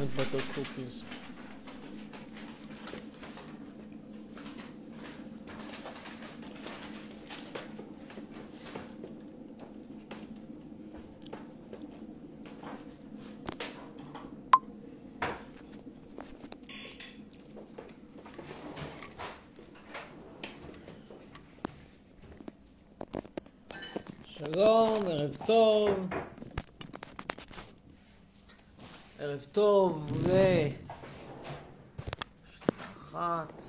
and butter cookies. שלום, ערב טוב. ערב טוב אחת.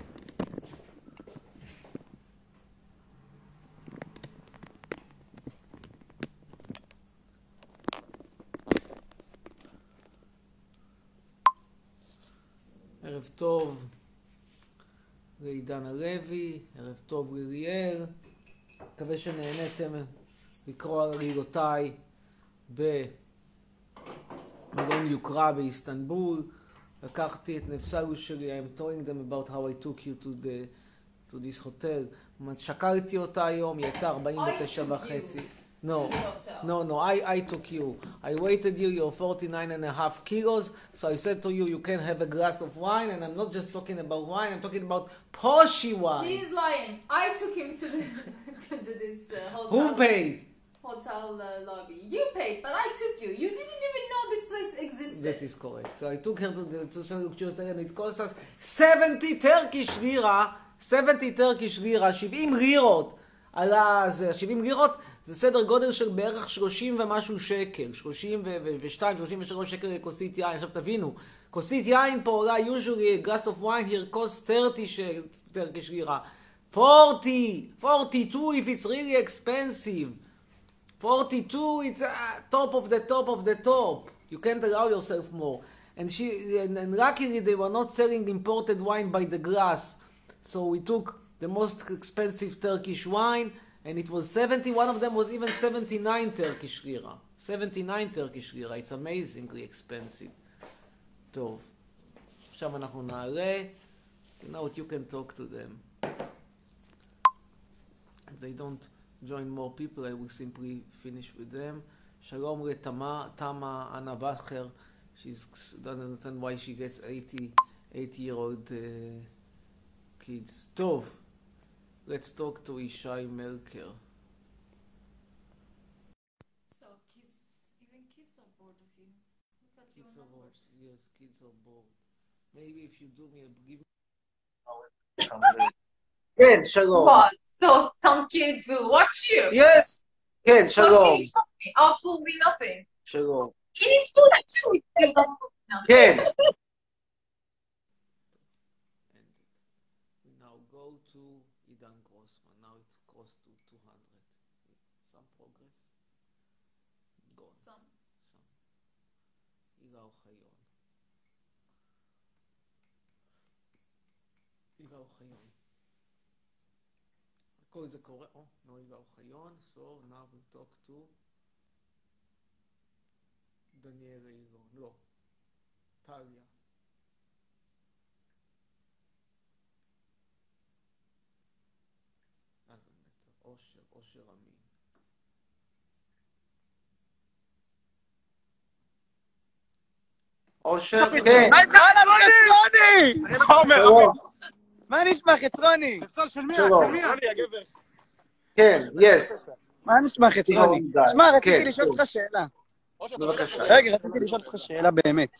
ערב טוב לעידן הלוי, ערב טוב לליאל. מקווה שנהניתם לקרוא על רילותיי במלון יוקרה באיסטנבול. לקחתי את נפסלו שלי, I'm telling them about how I took you to this hotel. שקלתי אותה היום, היא הייתה 49.5. No, I took you. I weighted you, you're 49.5 kilos. So I said to you, you can have a glass of wine. And I'm not just talking about wine, I'm talking about poshy wine. He's lying. I took him to this hotel. Who paid? Hotel lobby. You paid, but I took you. You didn't even know this place existed. That is correct. So I took her to St. Luke Tuesday and it cost us 70 Turkish lira. 70 Turkish lira, 70 לירות. על זה, 70 לירות זה סדר גודל של בערך 30 ומשהו שקל, 32, 33 שקל לכוסית יין. עכשיו תבינו, כוסית יין פה עולה usually a glass of wine here costs 30 Turkish lira. 40, 42 if it's really expensive. 42 it's top of the top of the top. You can't allow yourself more. And luckily they were not selling imported wine by the glass. So we took the most expensive Turkish wine, and it was 70. One of them was even 79 Turkish lira. 79 Turkish lira. It's amazingly expensive. טוב. עכשיו אנחנו נעלה. You know what, you can talk to them. If they don't join more people, I will simply finish with them. Shalom לתמה Anna Bacher. She doesn't understand why she gets 80-year-old kids. טוב. Let's talk to Ishai Melker. So even kids are bored of you. Look at Kids your are bored. numbers. Yes, kids are bored. Maybe if you do me a give me... כן, שלום. What? So some kids will watch you? Yes. כן, שלום. Absolutely nothing. שלום. It is food too. There's absolutely nothing. כן. We now go to Idan Grossman. Now it's close to 200. Some progress? Gone. Some. הילה אוחיון. הילה אוחיון. כל זה קורה. no, הילה אוחיון. So now we talk to דניאל אילון. לא. טליה. אושר אמין. אושר, כן. מה נשמע חצרוני? שלום. כן, יס. מה נשמע חצרוני? שמע, רציתי לשאול אותך שאלה. בבקשה. רגע, רציתי לשאול אותך שאלה באמת.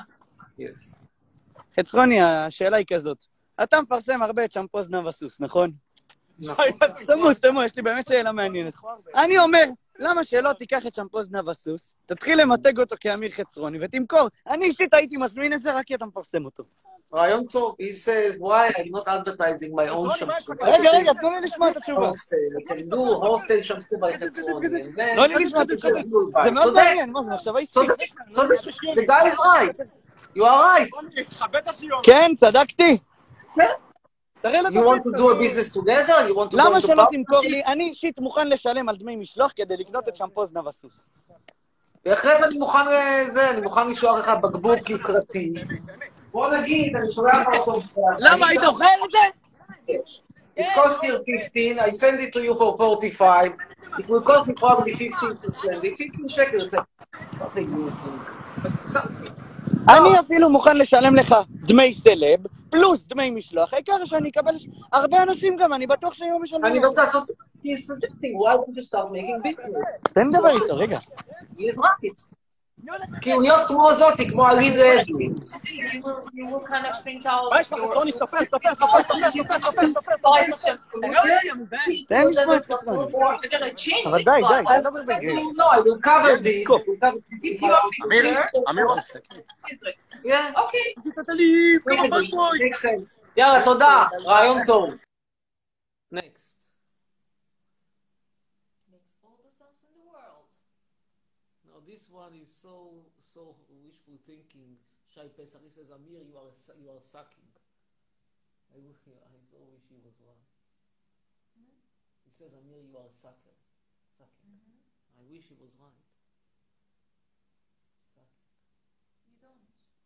חצרוני, השאלה היא כזאת. אתה מפרסם הרבה את שמפו זנב הסוס, נכון? סתמו, יש לי באמת שאלה מעניינת. אני אומר, למה שלא תיקח את שמפו זנב הסוס, תתחיל למתג אותו כאמיר חצרוני ותמכור. אני אישית הייתי מזמין את זה רק כי אתה מפרסם אותו. רעיון טוב. He says, why I'm not advertising my own shampoo. רגע, תנו לי לשמוע את התשובה. I can do hostel shampoo by חצרוני. לא לי לשמוע את התשובה. זה מאוד מעניין, מה זה מחשבה עסקית? צודק, the guy is right. You are right. כן, צדקתי. You want to do a business together? You want to go למה into שלא תמכור partnership? לי? אני אישית מוכן לשלם על דמי משלוח כדי לקנות את שמפו זנב הסוס. בהחלט אני מוכן לזה, אני מוכן לשלוח לך בקבוק יוקרתי. בוא נגיד, אני שולח אותו... למה, היית אוכל את זה? It costs you 15, I send it to you for 45, it will cost me probably 15%, it's 15 shekels, nothing new, but something. אני אפילו מוכן לשלם לך דמי סלב, פלוס דמי משלוח, העיקר שאני אקבל... הרבה אנשים גם, אני בטוח שהיו משלמים. אני לא יודעת, he's suggesting, why don't you start making business? תן לדבר איתו, רגע. He is right. כי הוא להיות כמו זאתי, כמו הליד רזלי. You will kind of print out מה יש לך, חצרוני? סתפר. אבל די, תדבר בגלל. No, I will cover this. אמיר, Yeah. Okay. Makes sense. יאללה, תודה. רעיון טוב. Next. makes all the sense in the world. Now this one is so wishful thinking. Shai Pesach, he says, Amir, you are sucking. I so wish he was wrong. He says, Amir, you are a sucker. Sucking. I wish he was right. Sucking. You don't.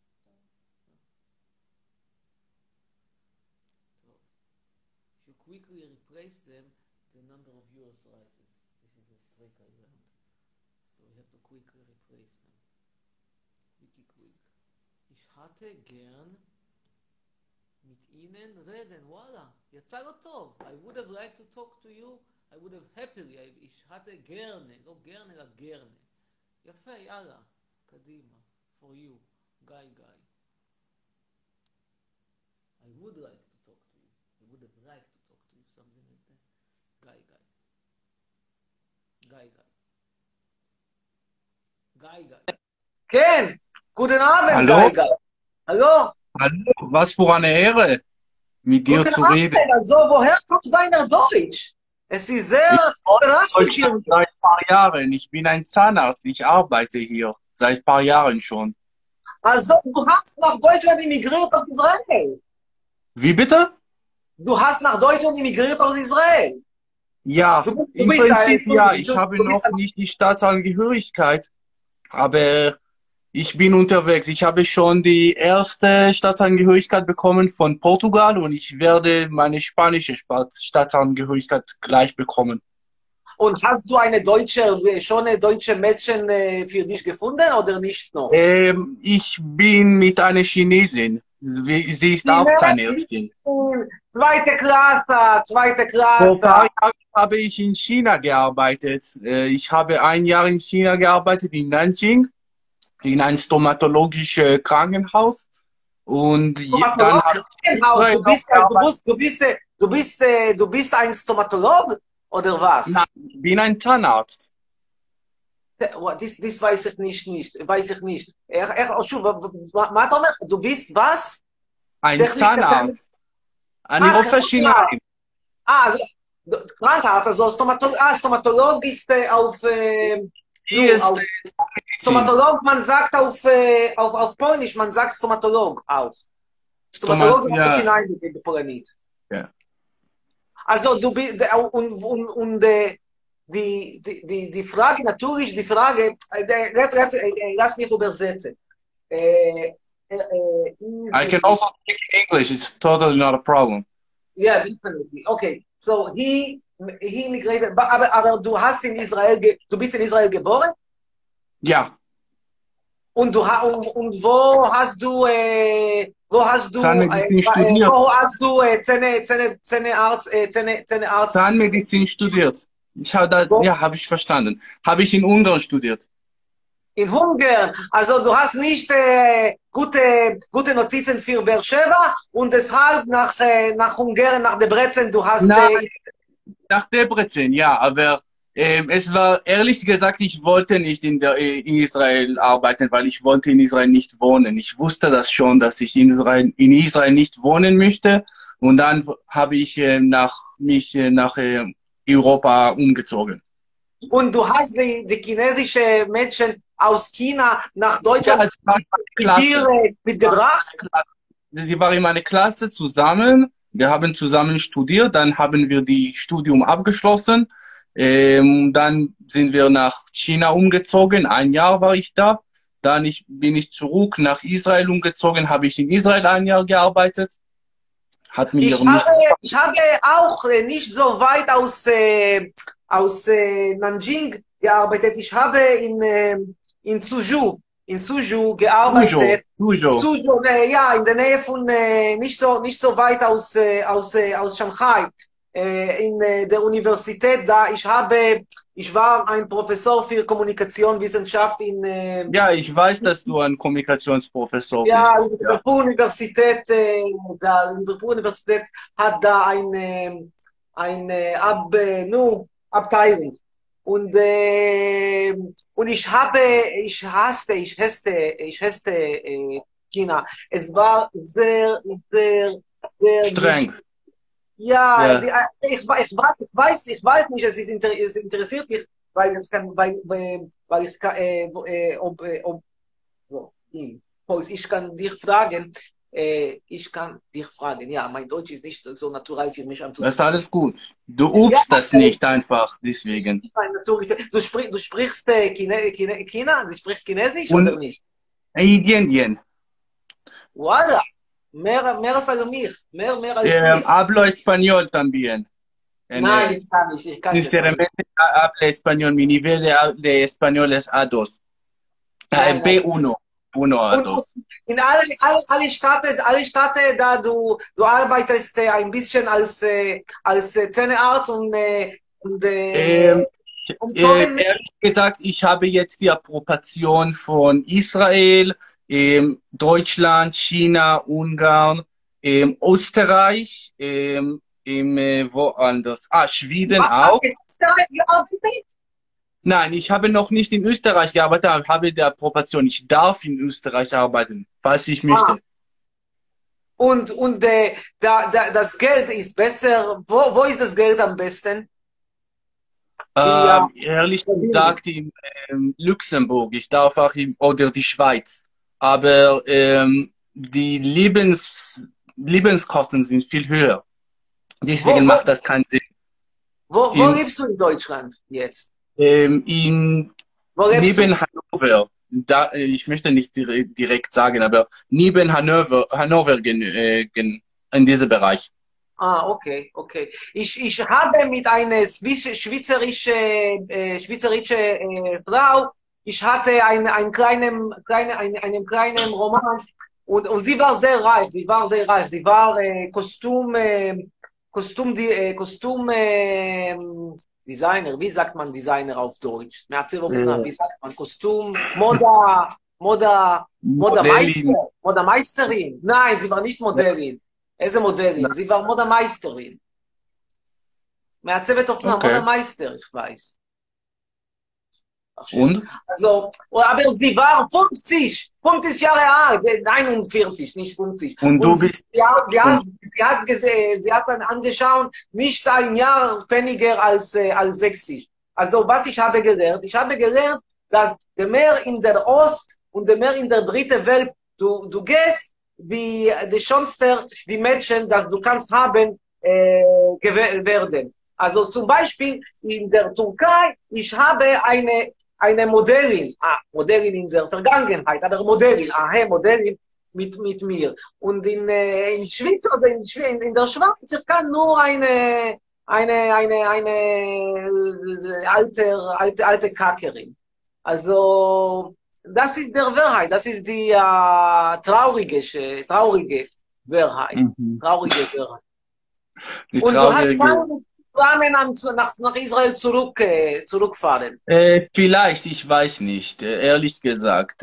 So, if you quickly replace them, the number of yours rises. This is a trick I learned. So we have to quickly replace them. Quick. Ich hatte gern mit Ihnen reden. וואלה, יצא לו טוב. I would have liked to talk to you. I would have happily. Ich hatte gerne. לא גרנה, אלא גרנה. יפה, יאללה. קדימה. For you. Guy. I would like to talk to you. I would have liked to talk to you. Something like that. Guy. כן, guten Abend, Hallo? Geiger. Hallo? Hallo, was für eine Ehre, mit dir Guten zu Abend, reden. also woher kommt deiner Deutsch? Es ist sehr überraschend hier. Seit ein paar Jahren. Ich bin ein Zahnarzt. Ich arbeite hier. Seit ein paar Jahren schon. Also du hast nach Deutschland emigriert aus Israel. Wie bitte? Du hast nach Deutschland emigriert aus Israel. Ja, Du im bist Prinzip ein- ja. du- Ich du- habe du bist noch ein- nicht die Staatsangehörigkeit, aber ich bin unterwegs. Ich habe schon die erste Staatsangehörigkeit bekommen von Portugal und ich werde meine spanische Staatsangehörigkeit gleich bekommen. Und hast du schon eine deutsche Mädchen für dich gefunden oder nicht noch? Ich bin mit einer Chinesin. Sie ist auch Zahnärztin. Zweite Klasse. Vor ein paar Jahren habe ich in China gearbeitet. Ich habe ein Jahr in China gearbeitet, in Nanjing, in einem stomatologischen Krankenhaus. Und dann habe Du bist ein Stomatolog oder was? Nein, ich bin ein Zahnarzt. Das weiß ich nicht. מה אתה אומר? Du bist was? Ein Zahnarzt. אני רופא שיניים. Also, Krankenarzt, also Stomatolog ist Hier ist Stomatolog, man sagt auf Polnisch, man sagt Stomatolog auch. Stomatolog ist ja. auch hinein in Polnisch. Ja. Also du bist und die Frage natürlich, lass mich übersetzen. I can also speak English. It's totally not a problem. Yeah, definitely. Okay, so he immigrated, aber du bist in Israel geboren? Ja, Und wo hast du Zahnmedizin studiert. wo hast du Zähnearzt? Zahnmedizin studiert. Habe ich verstanden. Habe ich in Ungarn studiert. In Ungarn. Also du hast nicht gute Notizen für Beersheba und deshalb nach Ungarn, nach Debrecen, du hast... Nein. Nach Debrecen, ja, aber es war, ehrlich gesagt, ich wollte nicht in Israel arbeiten, weil ich wollte in Israel nicht wohnen. Ich wusste das schon, dass ich in Israel nicht wohnen möchte. Und dann habe ich mich nach Europa umgezogen. Und du hast die chinesische Mädchen aus China nach Deutschland Ja, sie war in meiner Klasse. mitgebracht? Sie war in meiner Klasse zusammen. Wir haben zusammen studiert. Dann haben wir die Studium abgeschlossen. Dann sind wir nach China umgezogen. Ein Jahr war ich da. Dann bin ich zurück nach Israel umgezogen. Habe ich in Israel ein Jahr gearbeitet. Hat mir nicht... Ich habe auch nicht so weit aus Nanjing gearbeitet. Ich habe in Suzhou gearbeitet. Suzhou. Suzhou, ja, in der Nähe von, nicht so weit aus Shanghai, in der Universität da. Ich war ein Professor für Kommunikationswissenschaft in, Ja, ich weiß, dass du ein Kommunikationsprofessor ja, in bist. der Ja. Liverpool-Universität, die Liverpool-Universität hat da eine Abteilung. Und ich hasste China. Es war sehr, sehr, sehr Streng. ja, Ja. ich weiß nicht, es interessiert mich, weil ich kann, ich kann dich fragen, ja, mein Deutsch ist nicht so natural für mich. Das ist alles gut. Du übst das nicht einfach, deswegen. Du sprichst China? Du sprichst Chinesisch Und- oder nicht? Yen. Voila, mehr als mich, mehr als ich. Hablo español también. Nein, ich kann nicht. Sinceramente, hablo español. Mi nivel de español es A2. Nein, nein. B1. 1 A2. Und in alle Städte, da du arbeitest ein bisschen als Zahnearzt und umzogen. Ehrlich gesagt, ich habe jetzt die Approbation von Israel, Deutschland, China, Ungarn, Österreich, woanders. Schweden auch. Nein, ich habe noch nicht in Österreich gearbeitet, aber habe die Approbation. Ich darf in Österreich arbeiten, falls ich möchte. Und das Geld ist besser. Wo ist das Geld am besten? Ehrlich gesagt, in Luxemburg. Ich darf auch oder die Schweiz. Aber die Lebenskosten sind viel höher. Deswegen macht das keinen Sinn. Wo lebst du in Deutschland jetzt? Neben Wo lebst du? Hannover. Ich möchte nicht direkt sagen, aber neben Hannover in diesem Bereich. Okay. Ich habe mit einer schweizerische Frau, ich hatte einen kleinen Roman und sie war sehr reich. Sie war Designer. Wie sagt man Designer auf Deutsch? Wie sagt man Modemeisterin? Nein, sie war nicht Modellin. איזה מודלין? Sie war Modemeisterin. מעצבת אופנה, Modemeister, ich weiß. Und? Also, aber sie war 50 Jahre alt, 49, nicht 50. Und du bist... Sie hat dann angeschaut, nicht ein Jahr weniger als 60. Also, was ich habe gelernt? Ich habe gelernt, dass je mehr in der Ost und je mehr in der dritten Welt du gehst, die schönste die Menschen, dass du kannst haben, werden. Also zum Beispiel in der Türkei, ich habe eine Modellin, Modellin in der Vergangenheit, aber Modellin mit mir. Und in Schweiz oder in der Schweiz, ich kann nur eine alte Kackerin. Also, das ist der Wahrheit, das ist die traurige Wahrheit. Traurige Wahrheit. Und du hast keine Pläne, nach Israel zurückfahren? Vielleicht, ich weiß nicht. Ehrlich gesagt,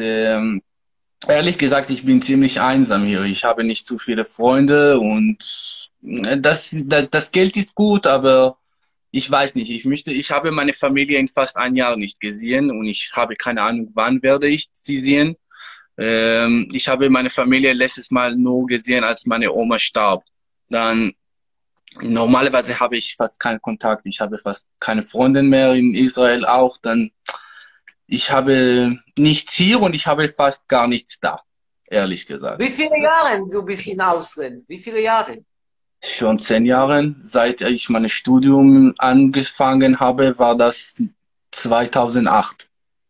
ich bin ziemlich einsam hier. Ich habe nicht so viele Freunde und das Geld ist gut, aber ich weiß nicht. Ich habe meine Familie in fast ein Jahr nicht gesehen und ich habe keine Ahnung, wann werde ich sie sehen. Ich habe meine Familie letztes Mal nur gesehen, als meine Oma starb. Dann normalerweise habe ich fast keinen Kontakt. Ich habe fast keine Freunde mehr in Israel auch. Dann ich habe nichts hier und ich habe fast gar nichts da, ehrlich gesagt. Wie viele Jahre du bist in Ausland? Wie viele Jahre? Schon 10 Jahre. Seit ich mein Studium angefangen habe, war das 2008.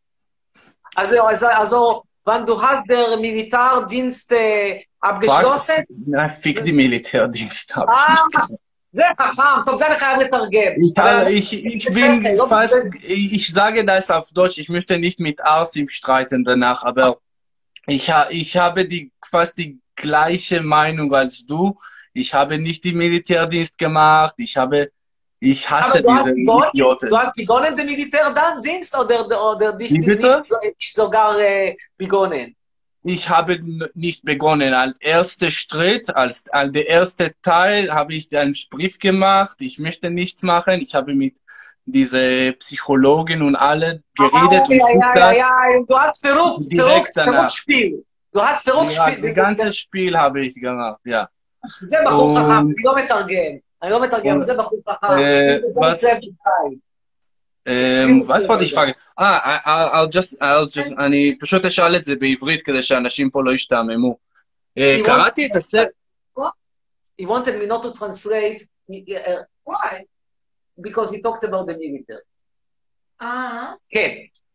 Also, wann du hast der Militärdienst abgeschlossen? Na, fick die Militärdienst, habe ich nicht gesagt. זה חכם, טוב, זה אני חייב לתרגם. Ich sage das auf Deutsch, ich möchte nicht mit Arsim streiten danach, aber Ich habe fast die gleiche Meinung als du. Ich habe nicht den Militärdienst gemacht. Ich Aber hasse diese du Idioten. hast begonnen den Militärdienst oder Wie bitte? nicht sogar begonnen? Ich habe nicht begonnen. Als erster Schritt, als der erste Teil, habe ich einen Brief gemacht. Ich möchte nichts machen. Ich habe mit dieser Psychologin und alle geredet und tut das Du hast direkt danach. Spiel. Du hast Ja, Spiel. das ganze Spiel habe ich gemacht, ja. זה בחור חכם, Und, אני לא מתרגם, זה בחור חכם. was, was wollte ich fragen? אני פשוט אשאל את זה בעברית כדי שאנשים פה לא ישתעממו. קראתי את הספר, He wanted me not to translate Why? because he talked about the military. כן.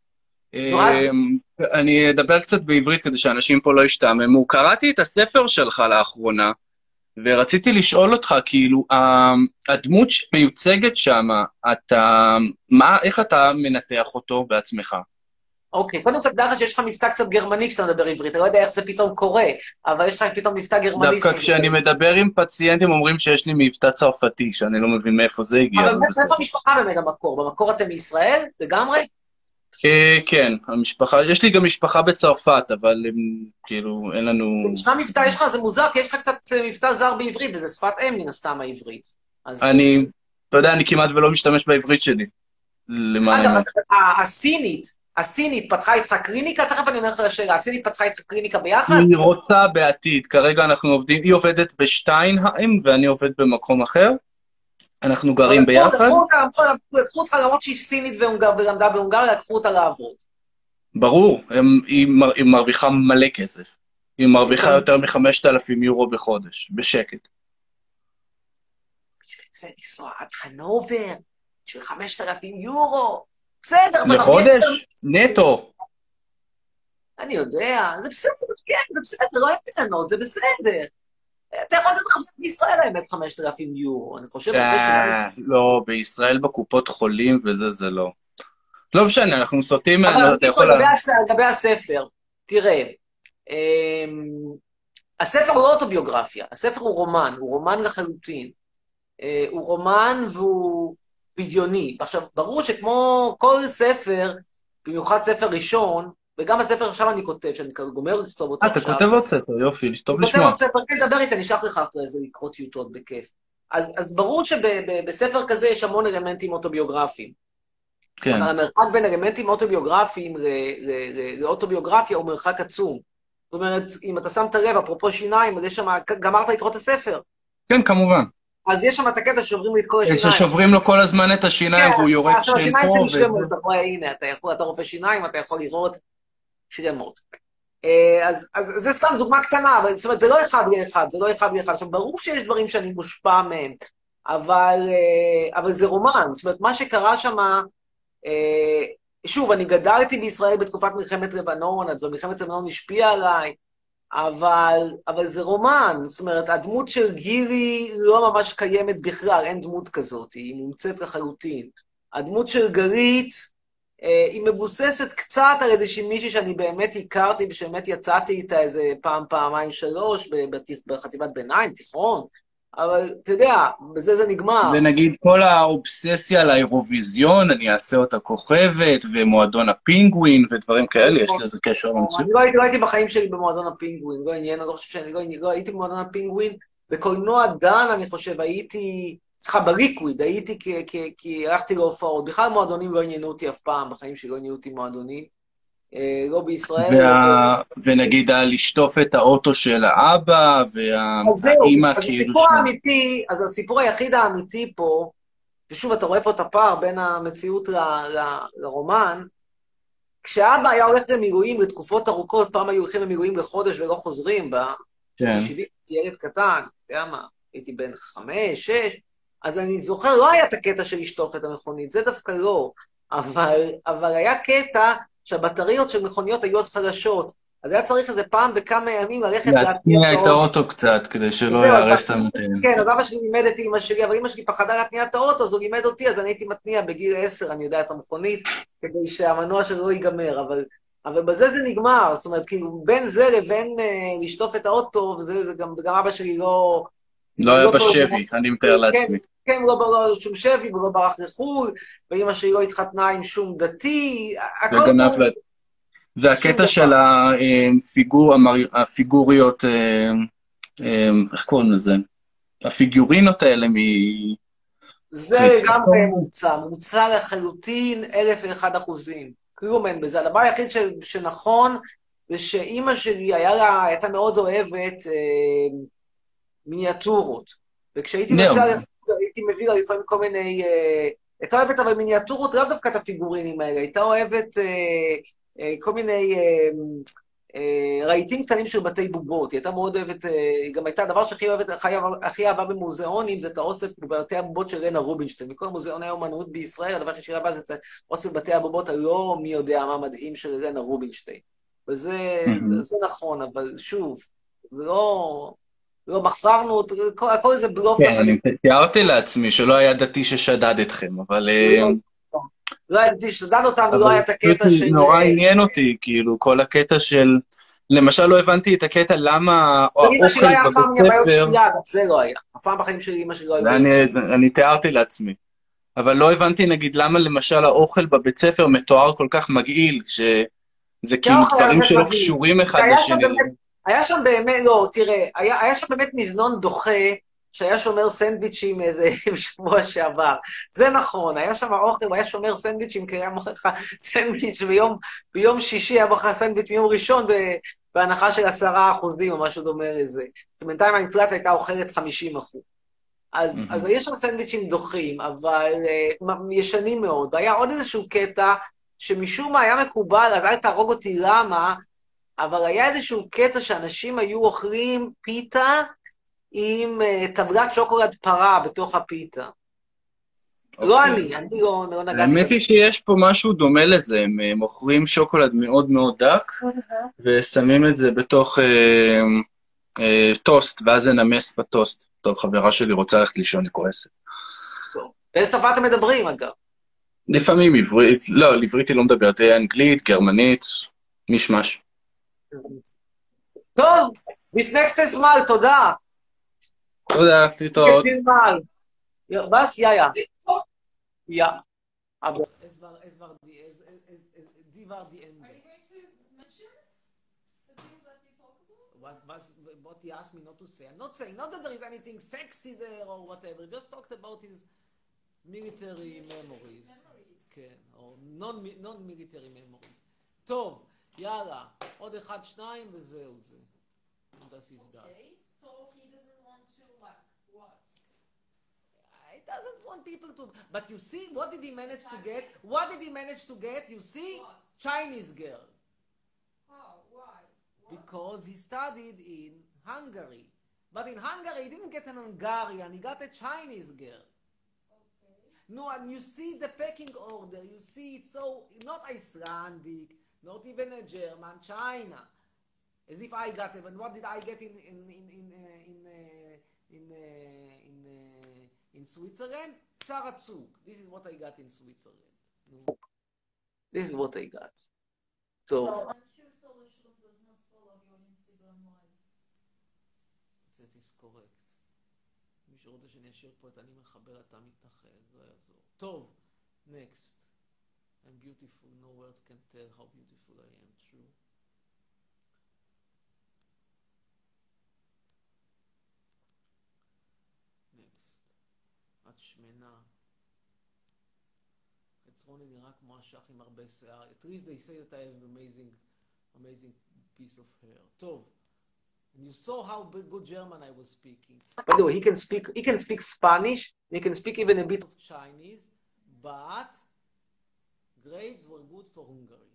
אני אדבר קצת בעברית כדי שאנשים פה לא ישתעממו. קראתי את הספר שלך לאחרונה, ורציתי לשאול אותך, כאילו, הדמות שמיוצגת שם, איך אתה מנתח אותו בעצמך? אוקיי, קודם כל, דרך שיש לך מבטא קצת גרמני כשאתה מדבר עברית, אני לא יודע איך זה פתאום קורה, אבל יש לך פתאום מבטא גרמני. דווקא כשאני מדבר עם פציינטים אומרים שיש לי מבטא צרפתי, שאני לא מבין מאיפה זה הגיע. אבל מאיפה המשפחה באמת במקור? במקור אתם מישראל? לגמרי? כן, המשפחה, יש לי גם משפחה בצרפת, אבל כאילו, אין לנו... נשמע מבטא, יש לך, זה מוזר, כי יש לך קצת מבטא זר בעברית, וזה שפת אם מן הסתם העברית. אתה יודע, אני כמעט ולא משתמש בעברית שלי. למען האמת. הסינית פתחה איתך קליניקה, תכף אני הולך לשאלה, הסינית פתחה איתך קליניקה ביחד? היא רוצה בעתיד, כרגע אנחנו עובדים, היא עובדת בשטיינהיים, ואני עובד במקום אחר. אנחנו גרים ביחד. לקחו אותך למרות שהיא סינית ולמדה בהונגריה, לקחו אותה לעבוד. ברור, היא מרוויחה מלא כסף. היא מרוויחה יותר מ5,000 יורו בחודש, בשקט. בשביל זה לנסוע עד חנובר, בשביל 5,000 יורו. בסדר. לחודש? נטו. אני יודע, זה בסדר, כן, זה בסדר, לא אין טענות, זה בסדר. אתה יכול לדעת בישראל האמת 5,000 יורו, אני חושב... לא, בישראל בקופות חולים וזה, זה לא. לא משנה, אנחנו סוטים... אבל לגבי הספר, תראה, הספר הוא לא אוטוביוגרפיה, הספר הוא רומן לחלוטין. הוא רומן והוא בדיוני. עכשיו, ברור שכמו כל ספר, במיוחד ספר ראשון, וגם הספר עכשיו אני כותב, שאני גומר לכתוב אותו עכשיו. אתה כותב עוד ספר, יופי, טוב לשמוע. כותב עוד ספר, כן, דבר איתי, אני אשלח לך אחרי זה לקרוא טיוטות בכיף. אז ברור שבספר כזה יש המון אלמנטים אוטוביוגרפיים. כן. אבל המרחק בין אלמנטים אוטוביוגרפיים לאוטוביוגרפיה הוא מרחק עצום. זאת אומרת, אם אתה שם את הלב, אפרופו שיניים, אז יש שם, גמרת לקרוא את הספר. כן, כמובן. אז יש שם את הקטע שעוברים לי את כל השיניים. ששוברים לו כל הזמן את השיניים, והוא יורק שם פה. הנה, אתה רופא שיניים, אתה יכול לראות שלמות. אז זה סתם דוגמה קטנה, זאת אומרת, זה לא אחד ואחד, זה לא אחד ואחד. עכשיו, ברור שיש דברים שאני מושפע מהם, אבל זה רומן. זאת אומרת, מה שקרה שם, שוב, אני גדלתי בישראל בתקופת מלחמת לבנון, ומלחמת לבנון השפיעה עליי, אבל זה רומן. זאת אומרת, הדמות של גילי לא ממש קיימת בכלל, אין דמות כזאת, היא מומצאת לחלוטין. הדמות של גלית, היא מבוססת קצת על איזושהי מישהי שאני באמת הכרתי, ושבאמת יצאתי איתה איזה פעמיים, שלוש, בחטיבת ביניים, תיכון, אבל אתה יודע, בזה זה נגמר. ונגיד כל האובססיה לאירוויזיון, אני אעשה אותה כוכבת, ומועדון הפינגווין, ודברים כאלה, יש לזה קשר למציאות. אני לא הייתי בחיים שלי במועדון הפינגווין, לא עניין, אני לא חושב שאני לא הייתי במועדון הפינגווין, בקולנוע דן, אני חושב, הייתי... צריכה בליקוויד, הייתי כי הלכתי להופעות. בכלל מועדונים לא עניינו אותי אף פעם, בחיים שלי לא עניינו אותי מועדונים. לא בישראל. ונגיד לשטוף את האוטו של האבא, והאימא כאילו... אז הסיפור היחיד האמיתי פה, ושוב אתה רואה פה את הפער בין המציאות לרומן, כשאבא היה הולך למילואים לתקופות ארוכות, פעם היו הולכים למילואים לחודש ולא חוזרים בה, הייתי ילד קטן, אתה יודע מה, הייתי בן 5, 6, אז אני זוכר, לא היה את הקטע של לשטוף את המכונית, זה דווקא לא, אבל היה קטע שהבטריות של מכוניות היו אז חלשות, אז היה צריך איזה פעם בכמה ימים ללכת להתניע את האוטו קצת, כדי שלא יהרס את המתאים. כן, אז אבא שלי לימד את אמא שלי, אבל אמא שלי פחדה להתניע את האוטו, אז הוא לימד אותי, אז אני הייתי מתניע בגיל 10, אני יודע את המכונית, כדי שהמנוע שלו לא ייגמר, אבל בזה זה נגמר, זאת אומרת, כאילו, בין זה לבין לשטוף את האוטו, וזה גם אבא שלי לא... לא היה לא טוב, בשבי, אני מתאר לעצמי. כן, לא שום שבי, ולא ברח לחו"ל, ואמא שלי לא התחתנה עם שום דתי, הכל וגנב טוב, לה... שום והקטע של דבר. הפיגוריות, איך קוראים לזה? הפיגורינות האלה זה לגמרי מכריסטל. מוצע לחלוטין 1001%. כלום אין בזה. הדבר היחיד שנכון, זה שאימא שלי הייתה מאוד אוהבת מיניאטורות. וכשהייתי זהו. נוסע, הייתי מביא לה לפעמים כל מיני... הייתה אוהבת אבל מיניאטורות, לאו דווקא את הפיגורינים האלה, הייתה אוהבת כל מיני רהיטים קטנים של בתי בובות. היא הייתה מאוד אוהבת, היא גם הייתה, הדבר שהכי אוהבת, הכי אהבה במוזיאונים, זה את האוסף בבתי הבובות של רנה רובינשטיין. מכל מוזיאוני האומנות בישראל, הדבר שהכי אהבה זה את האוסף בתי הבובות הלא מי יודע מה מדהים של רנה רובינשטיין. וזה נכון, אבל שוב, זה לא מכרנו, הכל זה בלוף כן, לחלוטין. אני תיארתי לעצמי שלא היה דתי ששדד אתכם, אבל... לא היה דתי שדד אותנו, לא אבל היה את הקטע של... נורא עניין אותי, כאילו, כל הקטע של... למשל, לא הבנתי את הקטע למה אמא שלי לא האוכל היה אף פעם בבית בעיות ספר... שתייה, גם זה לא היה. אף פעם בחיים שלי אמא שלי לא היה זה בעיות שתייה. אני תיארתי לעצמי. אבל לא הבנתי, נגיד, למה למשל האוכל בבית ספר מתואר כל כך מגעיל, שזה כאילו האוכל היה דברים באמת שלא מגעיל. קשורים אחד היה שם לשני. באמת, היה שם באמת, לא, תראה, היה שם באמת מזנון דוחה, שהיה שומר סנדוויצ'ים איזה שבוע שעבר. זה נכון, היה שם אוכל, הוא היה שומר סנדוויצ'ים, כי היה מוכר לך סנדוויץ' ביום שישי, היה מוכר סנדוויץ' ביום ראשון, בהנחה של 10% או משהו דומה לזה. בינתיים האינפלציה הייתה אוכלת 50%. אז יש שם סנדוויצ'ים דוחים, אבל ישנים מאוד. והיה עוד איזשהו קטע, שמשום מה היה מקובל, אז אל תהרוג אותי למה, אבל היה איזשהו קטע שאנשים היו אוכלים פיתה עם טבלת שוקולד פרה בתוך הפיתה. לא אני לא נגעתי האמת בזה. היא שיש פה משהו דומה לזה, הם מוכרים שוקולד מאוד מאוד דק, ושמים את זה בתוך טוסט, ואז זה נמס בטוסט. טוב, חברה שלי רוצה ללכת לישון, היא כועסת. באיזה שפה אתם מדברים, אגב? לפעמים עברית, לא, על עברית היא לא מדברת, אנגלית, גרמנית, מישמש. טוב, bis nächstes Mal, תודה. תודה, להתראות. Bis mal. Was? Ja. Ja. Aber es war die war die Ende. Are you going to mention the things that you talk about? What he asked me not to say. I'm not saying, not that there is anything sexy there or whatever, just talked about his military memories. כן, או non-military memories. טוב, יאללה, עוד אחד, שניים וזהו זה. Das ist das. Okay, so he doesn't want to like what? He doesn't want people to... But you see, what did he manage to get? What did he manage to get? You see? What? Chinese girl. How? Why? What? Because he studied in Hungary. But in Hungary, he didn't get an Hungarian, he got a Chinese girl. Okay. No, and you see the pecking order, you see it's so, not Icelandic, not even a German, China. As if I got it, and what did I get in Switzerland? Sarah Zug. This is what I got in Switzerland. This is what I got. So, I'm sure Solution does not follow your Instagram lives. that is correct. מי שרוצה שאני אשאיר פה את אני מחבר, אתה מתנחל, לא יעזור. טוב, next. I'm beautiful, no words can tell how beautiful I am, true. next. את שמנה. חצרוני נראה כמו אשך עם הרבה שיער. At least they say that I have amazing piece of hair. טוב. And you saw how good German I was speaking. By the way, he can speak Spanish, he can speak even a bit of Chinese, but grades were good for Hungary.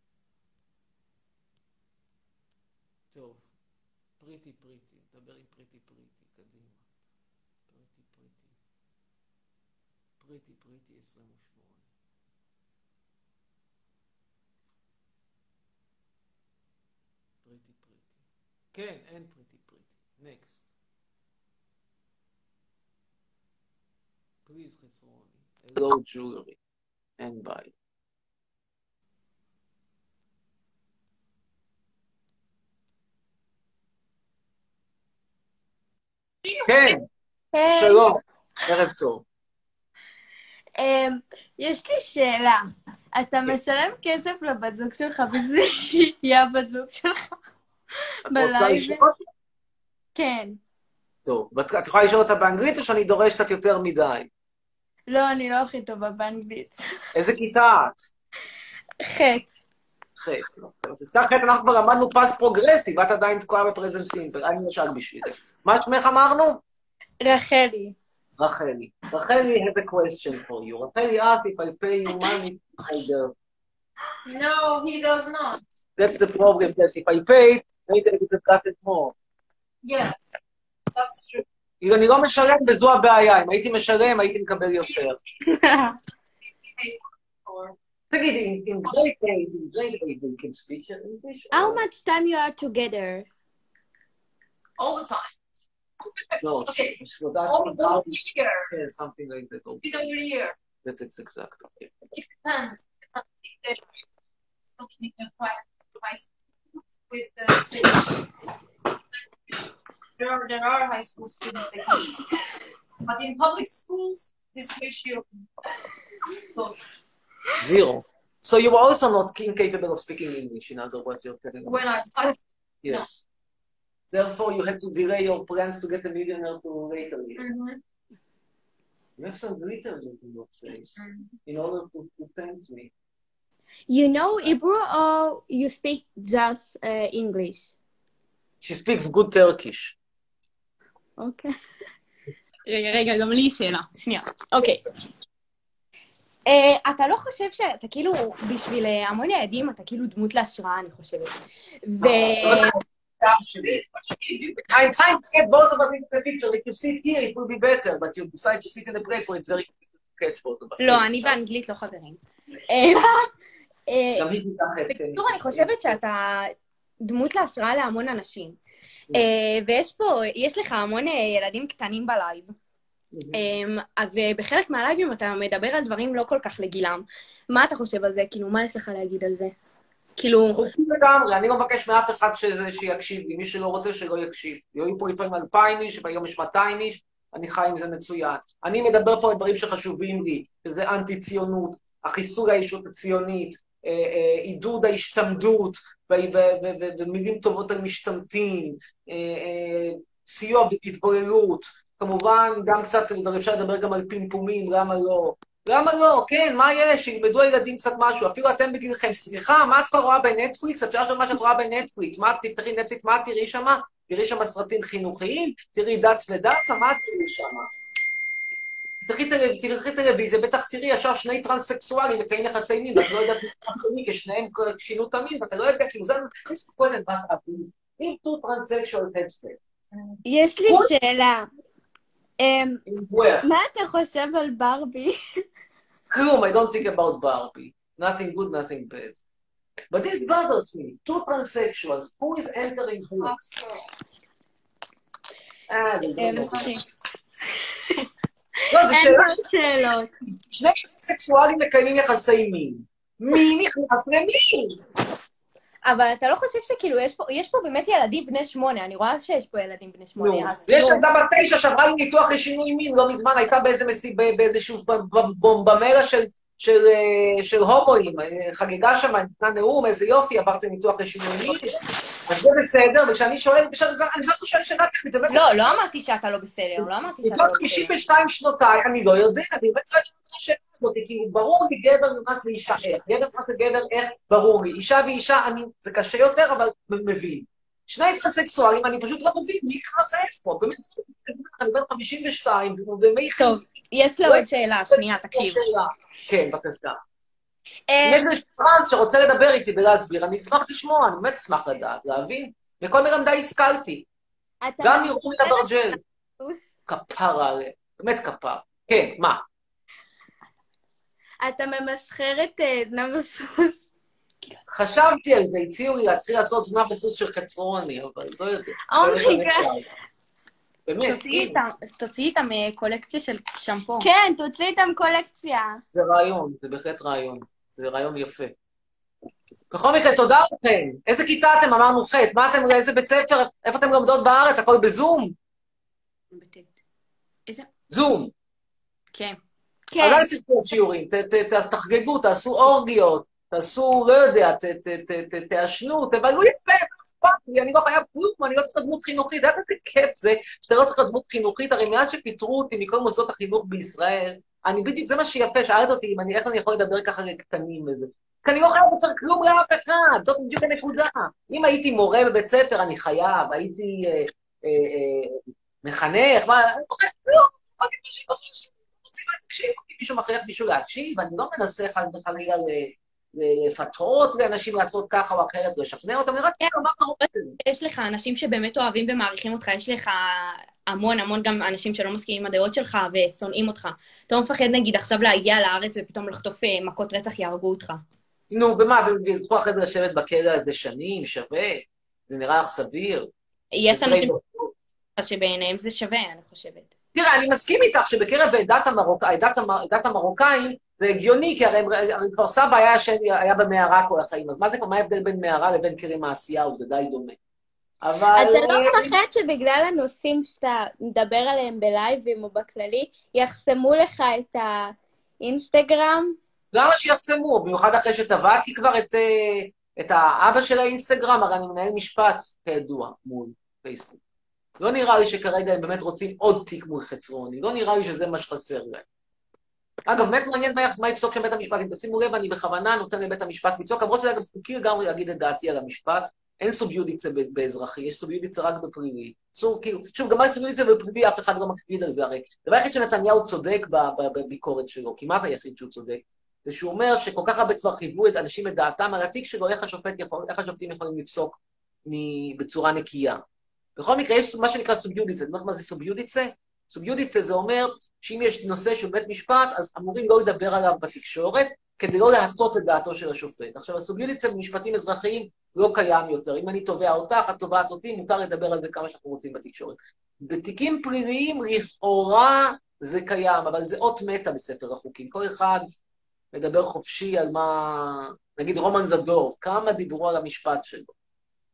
טוב, pretty, דבר עם pretty, קדימה. pretty, 28. pretty. כן, אין pretty. next. please, חצרוני. hello, jewelry. and bye. כן, היי, שלום, ערב טוב. יש לי שאלה. אתה משלם כסף לבת זוג שלך בשביל שהיא תהיה הבת זוג שלך את רוצה בלייב? לשאול? כן. טוב, את יכולה לשאול אותה באנגלית או שאני דורש קצת יותר מדי? לא, אני לא הכי טובה באנגלית. איזה כיתה את? חטא. חטא. בכיתה חטא אנחנו כבר למדנו פס פרוגרסיב, את עדיין תקועה בפרזנט סימפל, אני נשאר בשביל זה. מה שמך אמרנו? רחלי. רחלי. רחלי has a question for you. רחלי asked if I pay you money I do. No, he does not. That's the problem, yes, if I pay, maybe I would have gotten more. Yes, that's true. אם אני לא משלם, וזו הבעיה. אם הייתי משלם, הייתי מקבל יותר. תגידי, in great aid, you can speak English? How much time you are together? All the time. No, Okay. for that, All year. yeah, something like that. Been over a year. That's exact. Okay. It depends. Looking at private high schools with the city. There are high school students that can. But in public schools, this ratio goes. Zero. So you were also not incapable of speaking English, in other words, you're telling me. When I started, Yes. Therefore, you had to delay your plans to get a millionaire to later. You have some glitter in your face in order to tempt me. You know Hebrew or you speak just English? She speaks good Turkish. אוקיי. רגע, גם לי שאלה. שנייה. אוקיי. אתה לא חושב שאתה כאילו, בשביל המון ילדים, אתה כאילו דמות להשראה, אני חושבת. I'm trying to get both of us into the picture. If you sit here, it will be better, but you decide to sit in a place where it's very difficult to catch both of us. לא, אני באנגלית לא חברים. גם היא מתחת. בקיצור, אני חושבת שאתה דמות להשראה להמון אנשים. ויש לך המון ילדים קטנים בלייב. ובחלק מהלייבים אתה מדבר על דברים לא כל כך לגילם. מה אתה חושב על זה? כאילו, מה יש לך להגיד על זה? כאילו... חוקי לגמרי, אני לא מבקש מאף אחד שיקשיב לי, מי שלא רוצה שלא יקשיב. היו פה לפעמים 2,000 איש, והיום יש 200 איש, אני חי עם זה מצוין. אני מדבר פה על דברים שחשובים לי, שזה אנטי-ציונות, החיסול האישות הציונית, עידוד ההשתמדות, ומילים טובות על משתמטים, סיוע בהתבוללות, כמובן גם קצת אפשר לדבר גם על פמפומים, למה לא? למה לא? כן, מה יש? ילמדו הילדים קצת משהו. אפילו אתם בגילכם, סליחה, מה את כבר רואה בנטפליקס? את שואלת מה שאת רואה בנטפליקס. מה, תפתחי נטפליקס, מה תראי שמה? תראי שמה סרטים חינוכיים? תראי דת ודצה? מה תראי שמה? תראי טלוויזיה, בטח תראי ישר שני טרנסקסואלים מקיים יחסי מין, ואת לא יודעת מי, כי שניהם שינו את המין, ואתה לא יודע, כאילו זה כל הדבר אביב. אם two transsexual have sex. יש לי שאלה. מה אתה חושב על ברבי? כלום, I don't think about Barbie. Nothing good, nothing bad. But this bothers me. Two transsexuals. Who is entering who? לא, זה שאלות. שני טרנסקסואלים מקיימים יחסי מין. מי נכנס למין? אבל אתה לא חושב שכאילו יש פה באמת ילדים בני 8, אני רואה שיש פה ילדים בני 8. ויש ילדה בת 9 שעברה עם ניתוח לשינוי מין, לא מזמן הייתה באיזשהו בומבמרה של הומואים, חגיגה שם, נתנה נאום, איזה יופי, עברתי ניתוח לשינוי מין, אז זה בסדר, וכשאני שואל, אני זאת שואל שאלה טכנית, לא אמרתי שאתה לא בסדר, לא אמרתי שאתה לא בסדר. 52 שנותיי, אני לא יודע, אני באמת לא יודעת שאלה הזאת, כי ברור לי גבר נכנס לאישה איך, גבר נכנס לגבר איך, ברור לי, אישה ואישה, זה קשה יותר, אבל מבין. שני טרנסקסואלים, אני פשוט לא מבין, מי נכנס איפה? באמת, אני בן 52, ומי... טוב, יש לו עוד שאלה, שנייה, תקשיב. כן, בבקשה. יש לי טרנס שרוצה לדבר איתי ולהסביר, אני אשמח לשמוע, אני באמת אשמח לדעת, להבין? וכל מיני די השכלתי. גם ירומי אברג'ל. כפרה עליה, באמת כפר. כן, מה? אתה ממסחר את זנב הסוס? חשבתי על זה, הציעו לי להתחיל לעשות זנב הסוס של חצרוני, אבל לא יודע. באמת. תוציאי איתם קולקציה של שמפו. כן, תוציאי איתם קולקציה. זה רעיון, זה בהחלט רעיון. זה רעיון יפה. בכל מקרה, תודה לכם. איזה כיתה אתם? אמרנו ח'. מה אתם, איזה בית ספר? איפה אתם לומדות בארץ? הכל בזום? בטט. איזה? זום. כן. אז אל תצאו שיעורים, תחגגו, תעשו אורגיות, תעשו, לא יודע, תעשנו, תבלו יפה, אני לא חייב כלום, אני לא צריך דמות חינוכית, אתה איזה כיף זה, שאתה לא צריך דמות חינוכית, הרי מאז שפיטרו אותי מכל מוסדות החינוך בישראל, אני בדיוק, זה מה שיפה, שאלת אותי, איך אני יכול לדבר ככה לקטנים וזה. כי אני לא חייב לצר כלום לאף אחד, זאת בדיוק הנקודה. אם הייתי מורה בבית ספר, אני חייב, הייתי מחנך, מה, אני לא חייב כלום, אני פשוט לא חושב. תקשיב, מישהו מכריח מישהו להקשיב, אני לא מנסה חלילה לפתות לאנשים לעשות ככה או אחרת, לשכנע אותם, אני רק אומר מה רוצה. יש לך אנשים שבאמת אוהבים ומעריכים אותך, יש לך המון גם אנשים שלא מסכימים עם הדעות שלך ושונאים אותך. אתה לא מפחד נגיד עכשיו להגיע לארץ ופתאום לחטוף מכות רצח יהרגו אותך. נו, במה? וילכו אחרי זה לשבת בכלא הזה שנים, שווה? זה נראה לך סביר? יש אנשים שבעיניהם זה שווה, אני חושבת. תראה, אני מסכים איתך שבקרב עדת המרוקאים זה הגיוני, כי הרי כבר סבא היה במערה כל החיים, אז מה ההבדל בין מערה לבין כרם מעשיהו? זה די דומה. אבל... אתה לא מפחד שבגלל הנושאים שאתה מדבר עליהם בלייבים או בכללי, יחסמו לך את האינסטגרם? למה שיחסמו? במיוחד אחרי שטבעתי כבר את האבא של האינסטגרם, הרי אני מנהל משפט כידוע מול פייסבוק. לא נראה לי שכרגע הם באמת רוצים עוד תיק מול חצרוני, לא נראה לי שזה מה שחסר להם. אגב, באמת מעניין מה יפסוק שם בית המשפט, אם תשימו לב, אני בכוונה נותן לבית המשפט לצעוק, למרות שזה אגב חוקי לגמרי להגיד את דעתי על המשפט, אין סוביודיצה באזרחי, יש סוביודיצה רק בפלילי. שוב, גם מה סוביודיצה בפלילי, אף אחד לא מקפיד על זה הרי. דבר היחיד שנתניהו צודק בביקורת שלו, כמעט היחיד שהוא צודק, זה שהוא אומר שכל כך הרבה כבר חייבו את אנשים את דעתם על התיק שלו, איך השופטים יכולים לפסוק בצורה נקייה. בכל מקרה, יש מה שנקרא סוביודיצה. זאת אומרת, מה זה סוביודיצה? סוביודיצה זה אומר שאם יש נושא של בית משפט, אז אמורים לא לדבר עליו בתקשורת, כדי לא להטות את דעתו של השופט. עכשיו, הסוביודיצה במשפטים אזרחיים לא קיים יותר. אם אני תובע אותך, את תובעת אותי, מותר לדבר על זה כמה שאנחנו רוצים בתקשורת. בתיקים פליליים, לכאורה זה קיים, אבל זה אות מתה בספר החוקים. כל אחד מדבר חופשי על מה... נגיד רומן זדורוב, כמה דיברו על המשפט שלו.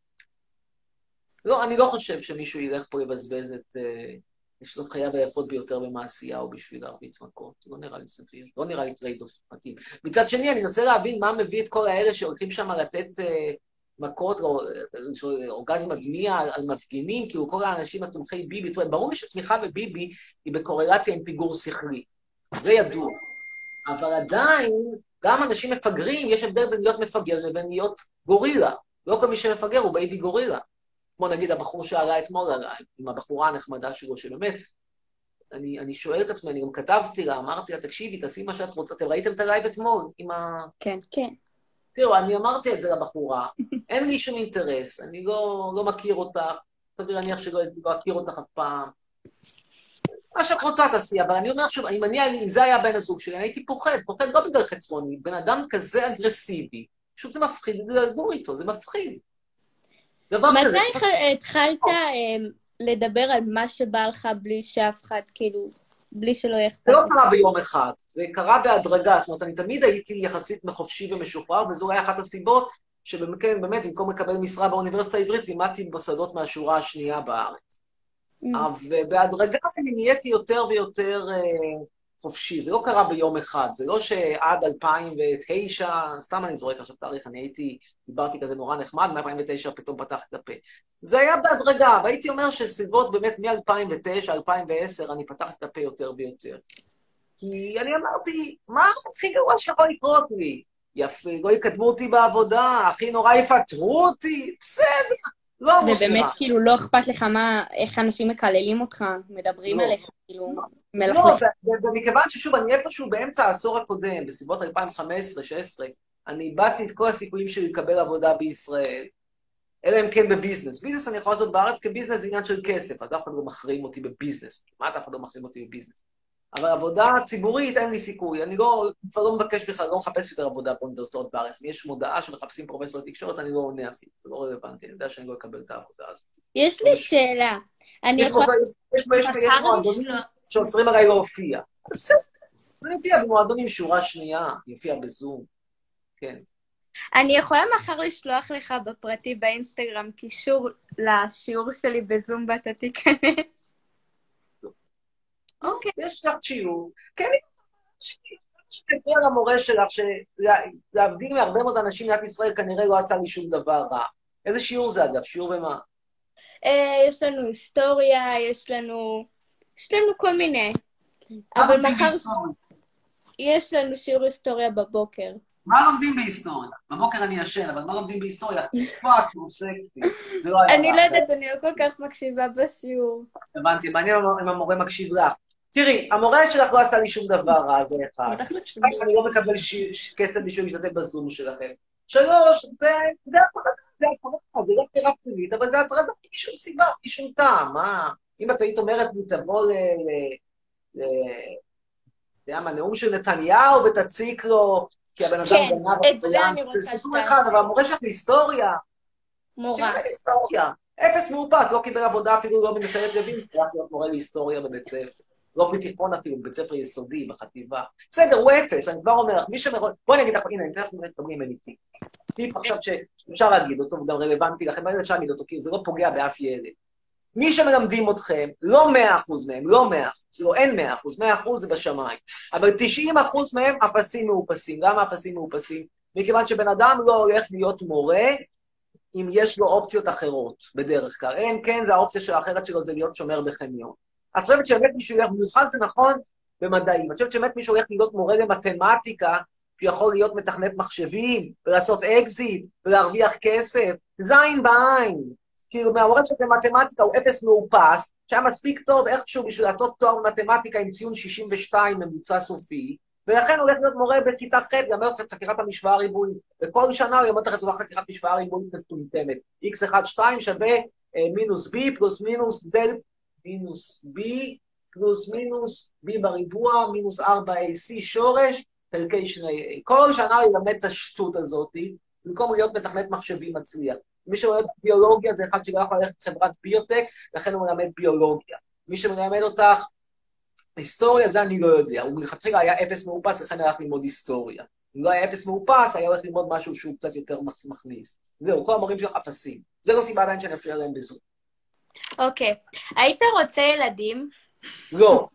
לא, אני לא חושב שמישהו ילך פה לבזבז את שנות חייו היפות ביותר במעשיהו בשביל להרביץ מכות. זה לא נראה לי סביר, לא נראה לי טרייד-אוף מתאים. מצד שני, אני אנסה להבין מה מביא את כל האלה שהולכים שם לתת מכות או אורגזם מדמיע על מפגינים, כאילו כל האנשים התומכי ביבי. ברור לי שתמיכה בביבי היא בקורלציה עם פיגור שכלי. זה ידוע. אבל עדיין, גם אנשים מפגרים, יש הבדל בין להיות מפגר לבין להיות גורילה. לא כל מי שמפגר הוא בייבי גורילה. כמו נגיד הבחור שעלה אתמול עליי, עם הבחורה הנחמדה שלו, שבאמת, אני שואל את עצמי, אני גם כתבתי לה, אמרתי לה, תקשיבי, תעשי מה שאת רוצה, אתם ראיתם את הלייב אתמול? כן, כן. תראו, אני אמרתי את זה לבחורה, אין לי שום אינטרס, אני לא מכיר אותך, סביר להניח שלא אכיר אותך אף פעם. מה שאת רוצה תעשי, אבל אני אומר שוב, אם זה היה בן הזוג שלי, אני הייתי פוחד לא בגלל חצרוני, בן אדם כזה אגרסיבי, פשוט זה מפחיד לגור איתו, זה מפחיד. מתי התחלת לדבר על מה שבא לך בלי שאף אחד, כאילו, בלי שלא יחפת? זה לא קרה ביום אחד, זה קרה בהדרגה, זאת אומרת, אני תמיד הייתי יחסית מחופשי ומשוחרר, וזו היה אחת הסיבות שבאמת, במקום לקבל משרה באוניברסיטה העברית, לימדתי במוסדות מהשורה השנייה בארץ. ובהדרגה אני נהייתי יותר ויותר חופשי, זה לא קרה ביום אחד, זה לא שעד 2009, סתם אני זורק עכשיו תאריך, דיברתי כזה נורא נחמד, מ-2009 פתאום פתחתי את הפה. זה היה בהדרגה, והייתי אומר שסביבות באמת מ-2009, 2010, אני פתחתי את הפה יותר ויותר. כי אני אמרתי, מה הכי גרוע שיכול לקרות לי? יפה, לא יקדמו אותי בעבודה, הכי נורא יפטרו אותי, בסדר. לא מוזמרה. ובאמת, כאילו, לא אכפת לך איך אנשים מקללים אותך, מדברים עליך, כאילו, מלכלך. לא, ומכיוון ששוב, אני איפשהו באמצע העשור הקודם, בסביבות 2015-2016, אני איבדתי את כל הסיכויים שלי לקבל עבודה בישראל, אלא אם כן בביזנס. ביזנס אני יכול לעשות בארץ, כי ביזנס זה עניין של כסף, אז אף אחד לא מחרים אותי בביזנס. כמעט אף אחד לא מחרים אותי בביזנס. אבל עבודה ציבורית אין לי סיכוי. אני כבר לא מבקש בכלל, לא מחפש יותר עבודה באוניברסיטאות בארץ. אם יש מודעה שמחפשים פרופסור לתקשורת, אני לא עונה אפילו. זה לא רלוונטי, אני יודע שאני לא אקבל את העבודה הזאת. יש לי שאלה. יש מועדונים שאוסרים עליי להופיע. אני אופיע במועדונים שורה שנייה, יופיע בזום. כן. אני יכולה מחר לשלוח לך בפרטי באינסטגרם קישור לשיעור שלי בזום ואתה תיכנס. אוקיי. יש לך שיעור. כן, שתפריע למורה שלך, שלהבדיל מהרבה מאוד אנשים במדינת ישראל, כנראה לא עשה לי שום דבר רע. איזה שיעור זה אגב? שיעור במה? יש לנו היסטוריה, יש לנו כל מיני. אבל לומדים מחר בהיסטוריה? יש לנו שיעור היסטוריה בבוקר. מה לומדים בהיסטוריה? בבוקר אני ישן, אבל מה לומדים בהיסטוריה? פאק, מוסקתי. זה לא היה... אני לא יודעת, אני לא כל כך מקשיבה בשיעור. הבנתי, מעניין אם המורה מקשיב לך. תראי, המורה שלך לא עשה לי שום דבר רע, זה אחד. שתיים, אני לא מקבל כסף בשביל להשתתף בזום שלכם. שלוש, זה הפרדה, זה לא בחירה פנימית, אבל זה הפרדה משום סיבה, משום טעם. מה? אם את היית אומרת לי, תבוא נאום של נתניהו ותציק לו, כי הבן אדם כן, גנב את זה אני רוצה זה סיפור אחד, אבל המורה שלך להיסטוריה. מורה. שילמד היסטוריה. אפס מאופס, לא קיבל עבודה אפילו לא במכללת לוינסקי, רק להיות מורה להיסטוריה בבית ספר. לא בתיכון אפילו, בבית ספר יסודי, בחטיבה. בסדר, הוא אפס, אני כבר אומר לך, מי שמראה... בואי נגיד לך, הנה, אני תכף מדברים ממני טיפ. טיפ עכשיו שאפשר להגיד אותו, וגם רלוונטי לכם, אבל אפשר להגיד אותו, כי זה לא פוגע באף ילד. מי שמלמדים אתכם, לא 100% מהם, לא 100%, לא, אין 100%, 100% זה בשמיים. אבל 90% מהם אפסים מאופסים. למה אפסים מאופסים? מכיוון שבן אדם לא הולך להיות מורה, אם יש לו אופציות אחרות, בדרך כלל. אין, כן, זה האופציה האחרת שלו, זה להיות שומר בחניון. את חושבת שבאמת מישהו ילך, במיוחד זה נכון במדעים, את חושבת שבאמת מישהו ילך להיות מורה למתמטיקה, שיכול להיות מתכנת מחשבים, ולעשות אקזיט, ולהרוויח כסף, זין בעין. כאילו, מהמורה של מתמטיקה הוא אפס מאופס, שהיה מספיק טוב איכשהו בשביל לעשות תואר במתמטיקה עם ציון 62 ממוצע סופי, ולכן הוא הולך להיות מורה בכיתה ח' יאמר את חקירת המשוואה הריבועית. וכל שנה הוא יאמר את אותה חקירת משוואה ריבועית מטומטמת. x1,2 שווה מינוס b פלוס מינוס דל מינוס b פלוס מינוס b בריבוע מינוס 4ac שורש חלקי 2a. כל שנה הוא ילמד את השטות הזאת, במקום להיות מתכנת מחשבים מצליח. מי שמלמד ביולוגיה זה אחד שלא יכול ללכת לחברת ביוטק, לכן הוא מלמד ביולוגיה. מי שמלמד אותך היסטוריה, זה אני לא יודע. הוא מלכתחילה היה אפס מאופס, לכן הלך ללמוד היסטוריה. אם לא היה אפס מאופס, היה הולך ללמוד משהו שהוא קצת יותר מכניס. זהו, כל המורים שלך אפסים. זה לא סיבה עדיין שאני אפריע להם בזום. אוקיי. היית רוצה ילדים? לא.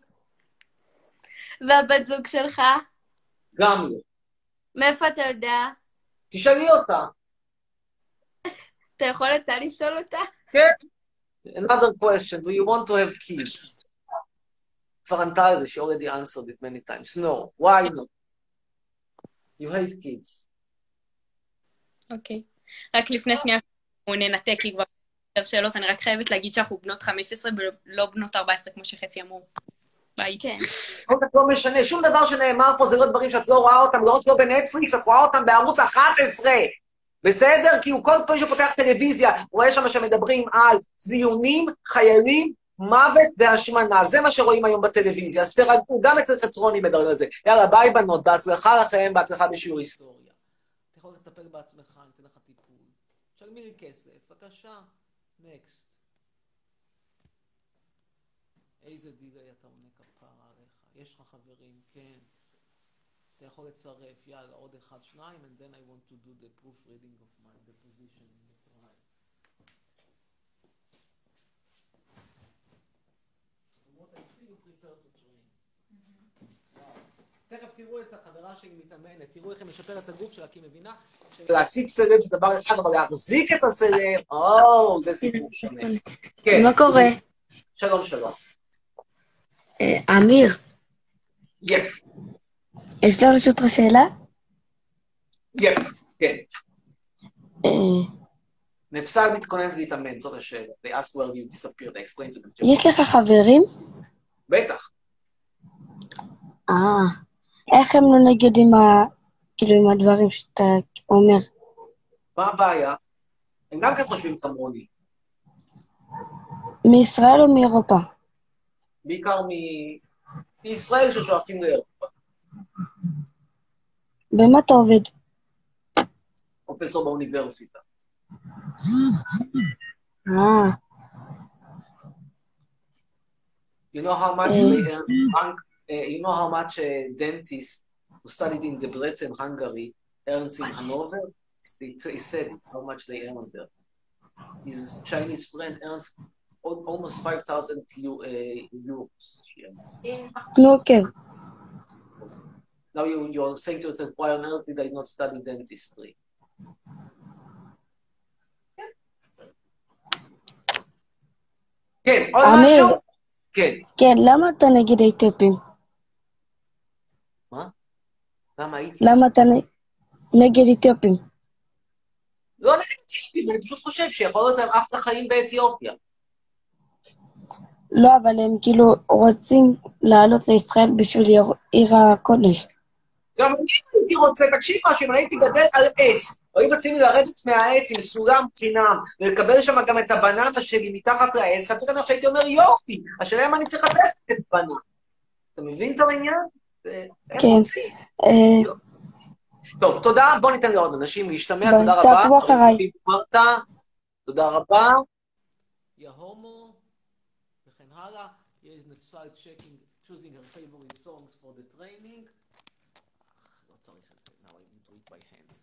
והבת זוג שלך? גם לא. מאיפה אתה יודע? תשאלי אותה. אתה יכול אתה לשאול אותה? כן. Another question, do you want to have kids? כבר ענתה על זה, she already answered it many times. No, why not? You hate kids. אוקיי. רק לפני שנייה ננתק, כי כבר יותר שאלות, אני רק חייבת להגיד שאנחנו בנות 15 ולא בנות 14, כמו שחצי אמרו. ביי. כן. כל כך לא משנה, שום דבר שנאמר פה זה לא דברים שאת לא רואה אותם, לא רק לא בנטפליקס, את רואה אותם בערוץ 11. בסדר? כי הוא כל פעם שפותח טלוויזיה, הוא רואה שם שמדברים על זיונים, חיילים, מוות והשמנה. זה מה שרואים היום בטלוויזיה, אז תרגעו, גם אצל חצרוני מדברים על זה. יאללה, ביי בנות, בהצלחה לכם, בהצלחה בשיעור היסטוריה. אתה יכול לטפל בעצמך, אני אתן לך טיפול. תשלמי לי כסף, בבקשה. נקסט. איזה דילי אתה עונה כפרה עליך. יש לך חברים, כן. אתה יכול לצרף, יאללה, עוד אחד, שניים, and then I want to do the proofreading of my deposition in the trial. From what I see, you prepare to train. תכף תראו את החברה שלי מתאמנת, תראו איך היא משפרת את הגוף שלה, כי היא מבינה להשיג סלב זה דבר אחד, אבל להחזיק את הסלב, זה סיפור שונה. כן. מה קורה? שלום, שלום. אמיר, יפ. אפשר לשאול אותך שאלה? יפ, כן. נפסל מתכוננת להתאמן, זאת השאלה. They ask where you disappear, they explain to them. יש לך חברים? בטח. איך הם לא נגד עם הדברים שאתה אומר? מה הבעיה? הם גם כן חושבים כמוני. מישראל או מאירופה? בעיקר מישראל ששואפים לאירופה. במה אתה עובד? פרופסור באוניברסיטה. You know how much you know how much a dentist who studied in Debrecen, Hungary, earns in Hanover? He said how much they earn there. His Chinese friend earns almost 5,000 euros. נו, כן. Now you're saying to yourself, why on earth did I not study dentistry? כן, עוד אמיר. משהו? כן. כן, למה אתה נגד האתיופים? מה? למה הייתי? למה אתה נגד אתיופים? לא נגד אתיופים, אני פשוט חושב שיכול להיות להם אחלה חיים באתיופיה. לא, אבל הם כאילו רוצים לעלות לישראל בשביל עיר הקודש. גם אני הייתי רוצה, תקשיב משהו, אם אני הייתי גדל על עץ, או אם רציתי לרדת מהעץ עם סולם חינם, ולקבל שם גם את הבננה שלי מתחת לעץ, ספק אני שהייתי אומר יופי, השאלה אם אני צריך לתת את בננה. אתה מבין את העניין? כן. טוב, תודה, בוא ניתן לעוד אנשים להשתמע, תודה רבה. תעקבו אחריי. תודה רבה. יא הומו, וכן הלאה. יש נפסל choosing her favorite songs for the training. לא צריך את זה, now I need to do it by hand.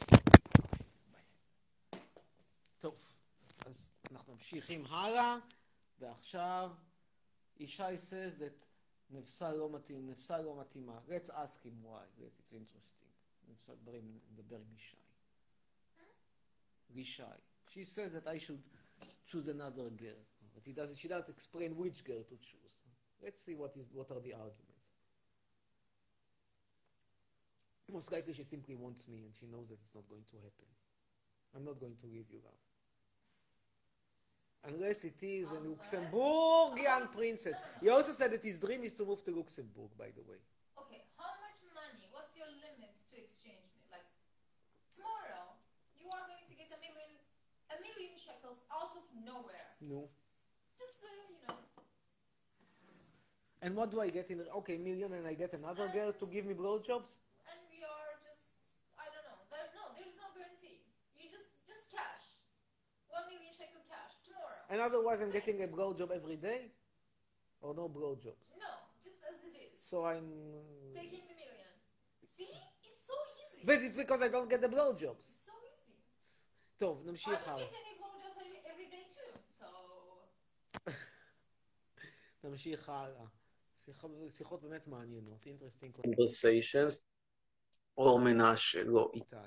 טוב, אז אנחנו ממשיכים הלאה, ועכשיו ישי says that נפסל לא מתאים, נפסל לא מתאימה. Let's ask him why, it's interesting. נפסל נדבר עם ישי. ישי. She says that I should choose another girl. But she doesn't explain which girl to choose. Let's see what are the arguments. Most likely she simply wants me and she knows that it's not going to happen. I'm not going to leave you, love. Unless it is a Luxembourgian princess. He also said that his dream is to move to Luxembourg, by the way. Okay, how much money? What's your limits to exchange me? Like, tomorrow, you are going to get a million shekels out of nowhere. No. Just, you know. And what do I get in? Okay, million, and I get another girl to give me blowjobs? And we are just, I don't know. There's no guarantee. You just cash. 1 million shekel cash tomorrow. And otherwise I'm getting a blowjob every day? Or no blowjobs? No, just as it is. So I'm... Taking the million. See? It's so easy. But it's because I don't get the blowjobs. It's so easy. טוב, נמשיך I הלאה. don't get any blowjobs every day too, so... נמשיך הלאה. שיחות באמת מעניינות. Interesting conversations. אור מנשה, לא, איתי.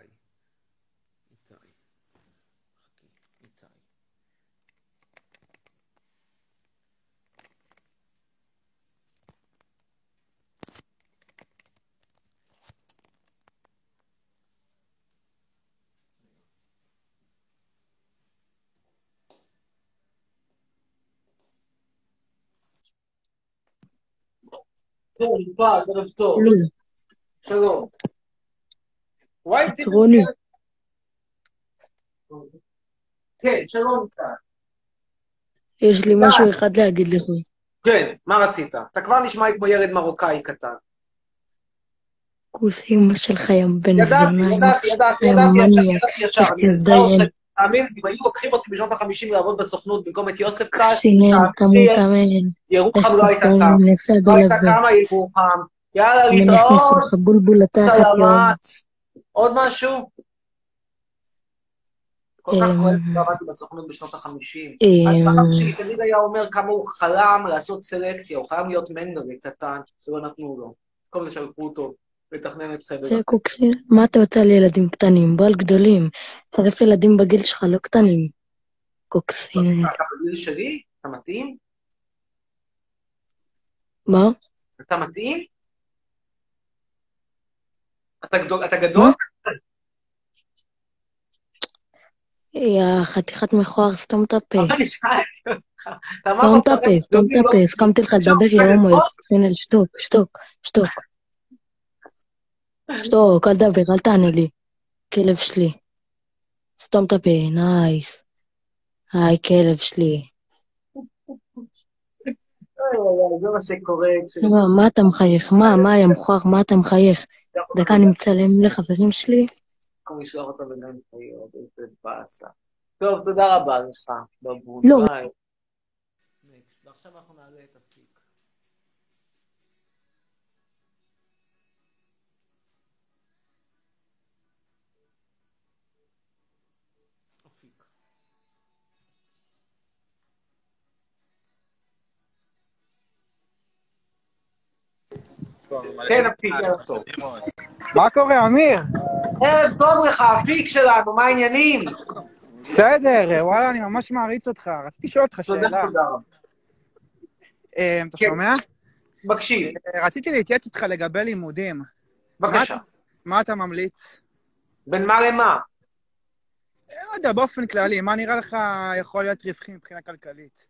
ערב טוב. שלום. רוני. כן, שלום. יש לי משהו אחד להגיד לך. כן, מה רצית? אתה כבר נשמע כמו ילד מרוקאי קטן. כוס אמא שלך ים בן זונה, ידעתי, ישר. תזדיין. תאמין, אם היו לוקחים אותי בשנות ה-50 לעבוד בסוכנות במקום את יוסף קל, סינר, תמות. ירוחם לא הייתה קם. לא הייתה קמה ירוחם. יאללה, להתראות. סלמת. עוד משהו? כל כך כואב שעבדתי בסוכנות בשנות ה-50. אבא שלי תמיד היה אומר כמה הוא חלם לעשות סלקציה, הוא חלם להיות מנגלה קטן, ולא נתנו לו. כל זה שלחו אותו לתכנן את חבר. קוקסי, מה אתה רוצה לילדים קטנים? בוא על גדולים. צריך ילדים בגיל שלך, לא קטנים. קוקסי. אתה בגיל שלי? אתה מתאים? מה? אתה מתאים? אתה גדול? יא חתיכת מכוער, סתום את הפה. סתום את הפה, סתום את הפה, הסכמתי לך לדבר, יא הומו, סינל, שתוק, שתוק, שתוק. שתוק, אל דבר, אל תענה לי. כלב שלי. סתום את הפה, נייס. היי, כלב שלי. זה מה שקורה. מה אתה מחייך? מה, יא מכוער, מה אתה מחייך? דקה, אני מצלם לחברים שלי. במקום לשלוח אותו בגן חיות, איזה באסה. טוב, תודה רבה לך. לא. ביי. ועכשיו אנחנו נעלה את אפיק. אפיק. כן, הפיק, ערב טוב. מה קורה, אמיר? ערב טוב לך, הפיק שלנו, מה העניינים? בסדר, וואלה, אני ממש מעריץ אותך. רציתי לשאול אותך תודה, שאלה. תודה רבה. אתה שומע? מקשיב. רציתי להתייעץ איתך לגבי לימודים. בבקשה. מה אתה ממליץ? בין מה למה? לא יודע, באופן כללי, מה נראה לך יכול להיות רווחי מבחינה כלכלית?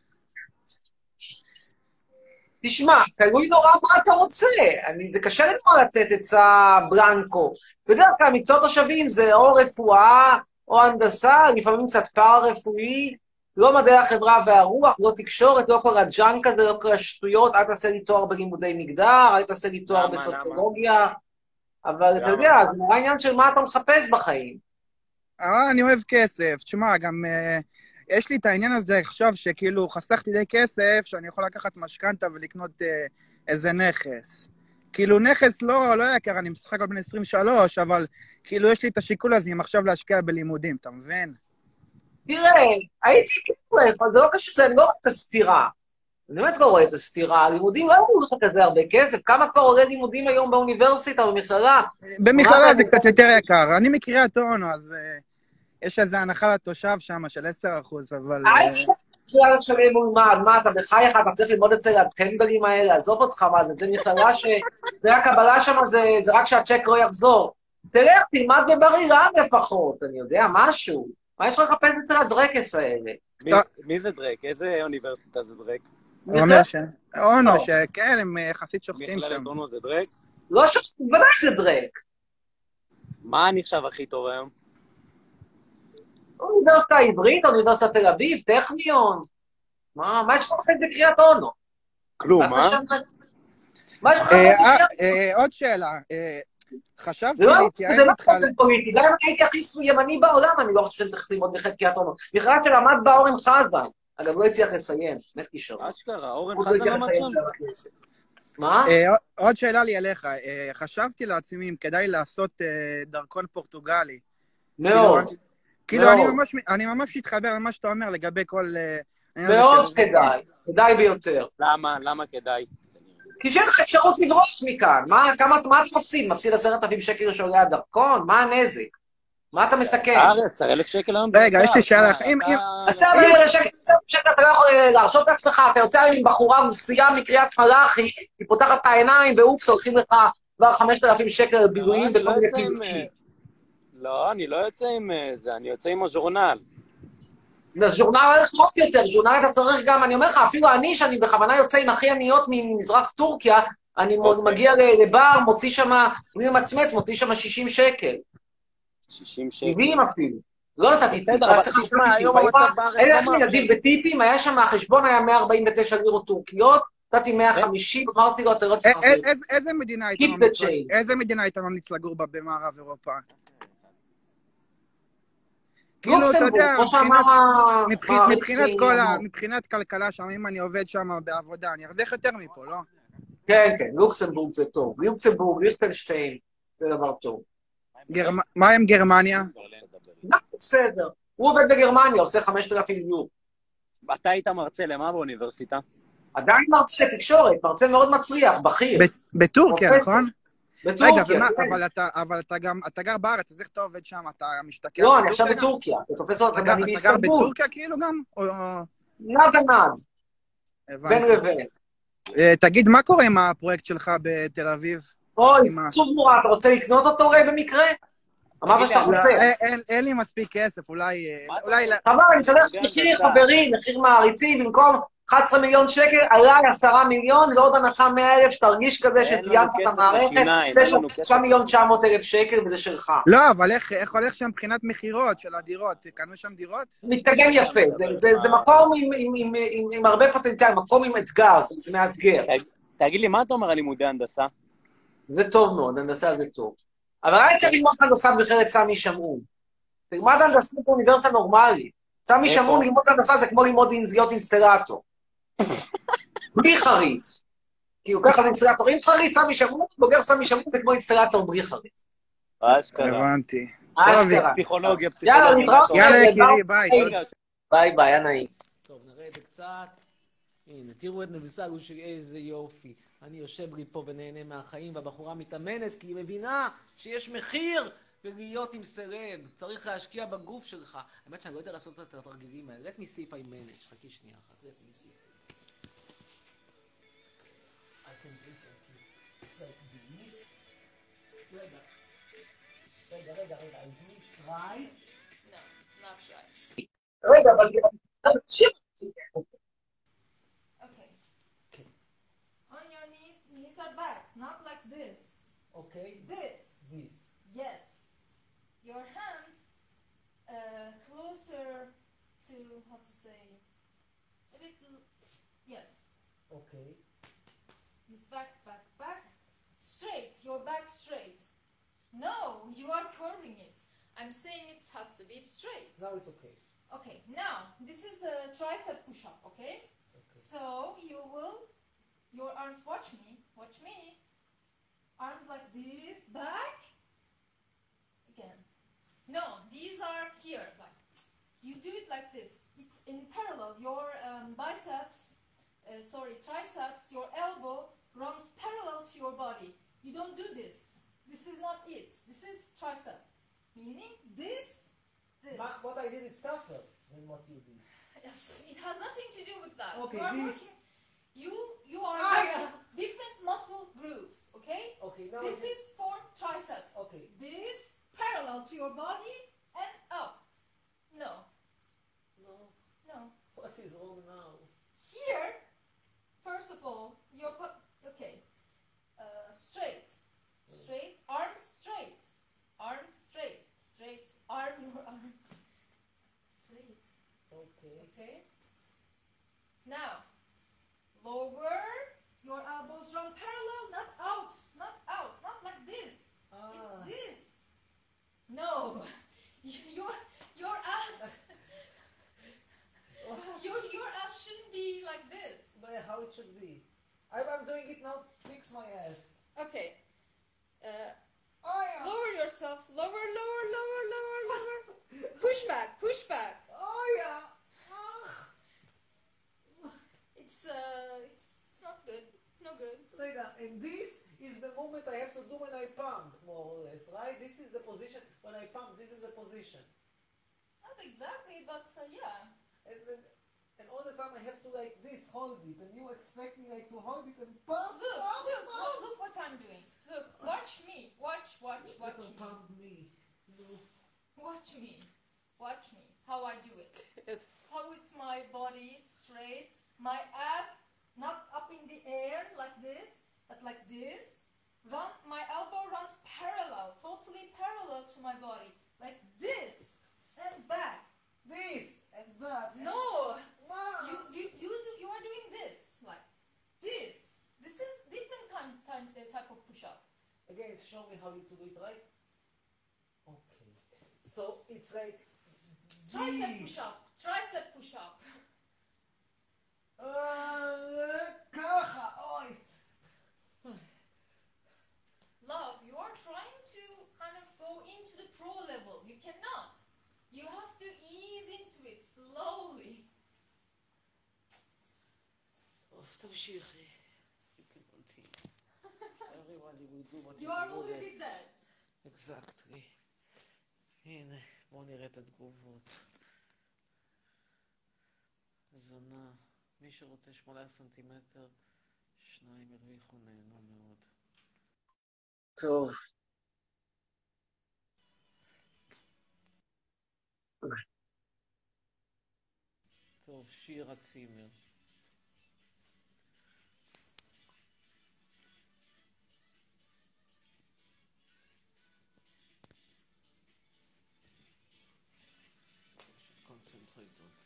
תשמע, תלוי נורא מה אתה רוצה. זה קשה לנו לתת עצה ברנקו. בדרך כלל מקצועות השווים זה או רפואה או הנדסה, לפעמים קצת פארה-רפואי, לא מדעי החברה והרוח, לא תקשורת, לא כל הג'אנק הזה, לא כל השטויות, אל תעשה לי תואר בלימודי מגדר, אל תעשה לי תואר בסוציולוגיה, אבל אתה יודע, זה נורא עניין של מה אתה מחפש בחיים. אני אוהב כסף. תשמע, גם יש לי את העניין הזה עכשיו שכאילו חסכתי די כסף, שאני יכול לקחת משכנתה ולקנות איזה נכס. כאילו נכס לא יקר, אני משחק על בן 23, אבל כאילו יש לי את השיקול הזה אם עכשיו להשקיע בלימודים, אתה מבין? תראה, הייתי כאילו, זה לא קשור, אני לא רואה את הסתירה. אני באמת לא רואה את הסתירה. לימודים לא אמרו לך כזה הרבה כסף. כמה כבר עולה לימודים היום באוניברסיטה, במכללה? במכללה זה קצת יותר יקר. אני מקריית אונו, אז יש איזו הנחה לתושב שם של 10%, אבל... הייתי בכלל שלם מולמד, מה אתה בחייך, אתה צריך ללמוד אצל הטמבלים האלה, עזוב אותך, מה זה מכללה זה הקבלה שם, זה רק שהצ'ק לא יחזור. תראה, תלמד בבר אילן לפחות, אני יודע, משהו. מה יש לך לחפש אצל הדרקס האלה? מי זה דרק? איזה אוניברסיטה זה דרק? הוא אומר אונו, שכן, הם יחסית שוחטים שם. מכללת אונו זה דרק? לא שוחטים, בוודאי שזה דרק. מה נחשב הכי טוב היום? אוניברסיטה העברית, אוניברסיטת תל אביב, טכניון. מה יש לך לחפש בקריית אונו? כלום, מה? מה יש לך לחפש בקריית אונו? עוד שאלה. חשבתי להתייעץ איתך... זה לא פוליטי, גם אם הייתי הכי ימני בעולם, אני לא חושב שאני צריך ללמוד בקריית אונו. בכלל שלמד בה אורן חזן. אגב, לא הצליח לסיים, באמת קישור. אשכרה, אורן חזן למד שם. מה? עוד שאלה לי אליך. חשבתי לעצמי אם כדאי לעשות דרכון פורטוגלי. מאוד. כאילו, אני ממש מתחבר למה שאתה אומר לגבי כל... מאוד כדאי, כדאי ביותר. למה כדאי? כי שאין לך אפשרות לברוח מכאן. כמה אתה מפסיד? מפסיד 10,000 שקל שעולה הדרכון? מה הנזק? מה אתה מסכן? 10,000 שקל היום? רגע, יש לי שאלה. 10,000 שקל אתה לא יכול להרשות את עצמך, אתה יוצא עם בחורה רוסיה מקריית מלאכי, היא פותחת את העיניים, ואופס, הולכים לך כבר 5,000 שקל בילויים בכל מיני פעילות. לא, אני לא יוצא עם זה, אני יוצא עם הז'ורנל. אז ז'ורנל הולך עוד יותר, ז'ורנל אתה צריך גם, אני אומר לך, אפילו אני, שאני בכוונה יוצא עם הכי עניות ממזרח טורקיה, אני מגיע לבר, מוציא שם, אני מצמץ, מוציא שם 60 שקל. 60 שקל. 70 אפילו. לא נתתי טיפ, אבל תשמע, היום המצב בארץ... היה לי נדיב בטיפים, היה שם, החשבון היה 149 לירות טורקיות, נתתי 150, אמרתי לו, אתה לא צריך לעשות. איזה מדינה היית ממליץ לגור בה במערב אירופה? לוקסמבורג, כמו שאמר... מבחינת כלכלה שם, אם אני עובד שם בעבודה, אני ארוויח יותר מפה, לא? כן, כן, לוקסמבורג זה טוב. לוקסמבורג, ליכטנשטיין, זה דבר טוב. מה עם גרמניה? בסדר. הוא עובד בגרמניה, עושה 5,000 יורו. אתה היית מרצה למה באוניברסיטה? עדיין מרצה תקשורת, מרצה מאוד מצליח, בכיר. בטורקיה, נכון? בטורקיה, אבל אתה גר בארץ, אז איך אתה עובד שם? אתה משתכר? לא, אני עכשיו בטורקיה. אתה גר בטורקיה כאילו גם? נד ונד. בין לבין. תגיד, מה קורה עם הפרויקט שלך בתל אביב? אוי, עצוב נורא, אתה רוצה לקנות אותו רי במקרה? אמרת שאתה חוסר. אין לי מספיק כסף, אולי... חבל, אני אסדר מחיר חברים, מחיר מעריצים, במקום 11 מיליון שקל, עלה 10 מיליון, ועוד הנחה 100,000, שתרגיש כזה שטיינת את המערכת, 9,900,000 שקל, וזה שלך. לא, אבל איך הולך שם מבחינת מחירות של הדירות? קנו שם דירות? מתקדם יפה, זה מקום עם הרבה פוטנציאל, מקום עם אתגר, זה מאתגר. תגיד לי, מה אתה אומר על לימודי הנדסה? זה טוב מאוד, הנדסה זה טוב. אבל היה צריך ללמוד הנדסה במכללת סמי שמעון. תלמד הנדסה באוניברסיטה נורמלית. סמי שמעון ללמוד הנדסה זה כמו ללמוד להיות אינסטלטור. בלי חריץ. כי הוא ככה זה אינסטלטור. אם חריץ סמי שמעון, בוגר סמי שמעון זה כמו אינסטלטור בלי חריץ. אשכרה. הבנתי. אשכרה. פסיכולוגיה. יאללה, נתראה. יאללה, יקירי, ביי. ביי, ביי, היה נעים. טוב, נראה את זה קצת. הנה, תראו את נבסלו שלי, איזה יופי. אני יושב לי פה ונהנה מהחיים, והבחורה מתאמנת כי היא מבינה שיש מחיר ולהיות עם סלב. צריך להשקיע בגוף שלך. האמת שאני לא יודע לעשות את התרגילים האלה. let me see if I manage. חכי שנייה אחת, let me see. I can do it. It's like this. רגע. I do try. No, not right. רגע, אבל... Okay. On your knees, knees are back, not like this. Okay. This. This. Yes. Your hands closer to, how to say, a bit, yeah. Okay. It's back, back, back. Straight, your back straight. No, you are curving it. I'm saying it has to be straight. Now it's okay. Okay, now, this is a tricep push-up, okay? So, you will, your arms, watch me. Arms like this, back. Again. No, these are here, like, you do it like this. It's in parallel. Your triceps, your elbow runs parallel to your body. You don't do this. This is not it. This is tricep. Meaning, this. What I did is tougher than what you did. It has nothing to do with that. Okay, you are this. working, you are working different muscle groups, okay? Okay, now This is for triceps. Okay. This parallel to your body and up. No. What is wrong now? Here, first of all, okay. Straight, arms straight, arm your arms straight. Okay. Now, lower. Your elbows run parallel, not out, not like this. It's this. No, your ass. your ass shouldn't be like this. But how it should be? I'm doing it now. Fix my ass. Okay. Lower yourself. Lower. Push back. Oh yeah. It's not good. No good. And this is the movement I have to do when I pump, more or less, right? This is the position when I pump. This is the position. Not exactly, but yeah. And all the time I have to like this, hold it, and you expect me like to hold it and pump. Look what I'm doing. Look, watch me. Watch me. Pump me. Watch me. How I do it. How it's my body straight, my ass not up in the air like this, but like this. My elbow runs parallel, totally parallel to my body, like this and back. This and that. No, Wow. you are doing this like this. This is different type of push-up. Again, show me how you do it, right? Okay. So it's like Tricep this. push-up. ככה, אוי. Love, you are trying to kind of go into the pro level. You cannot. You have to ease into it slowly. טוב, תמשיכי. You can continue. Everybody will do what You are already dead. Exactly. הנה, בואו נראה את התגובות. זונה. מי שרוצה 8 סנטימטר, 2 הרוויחו, נהנו מאוד. טוב. טוב, שירה צימר. Concentrate on.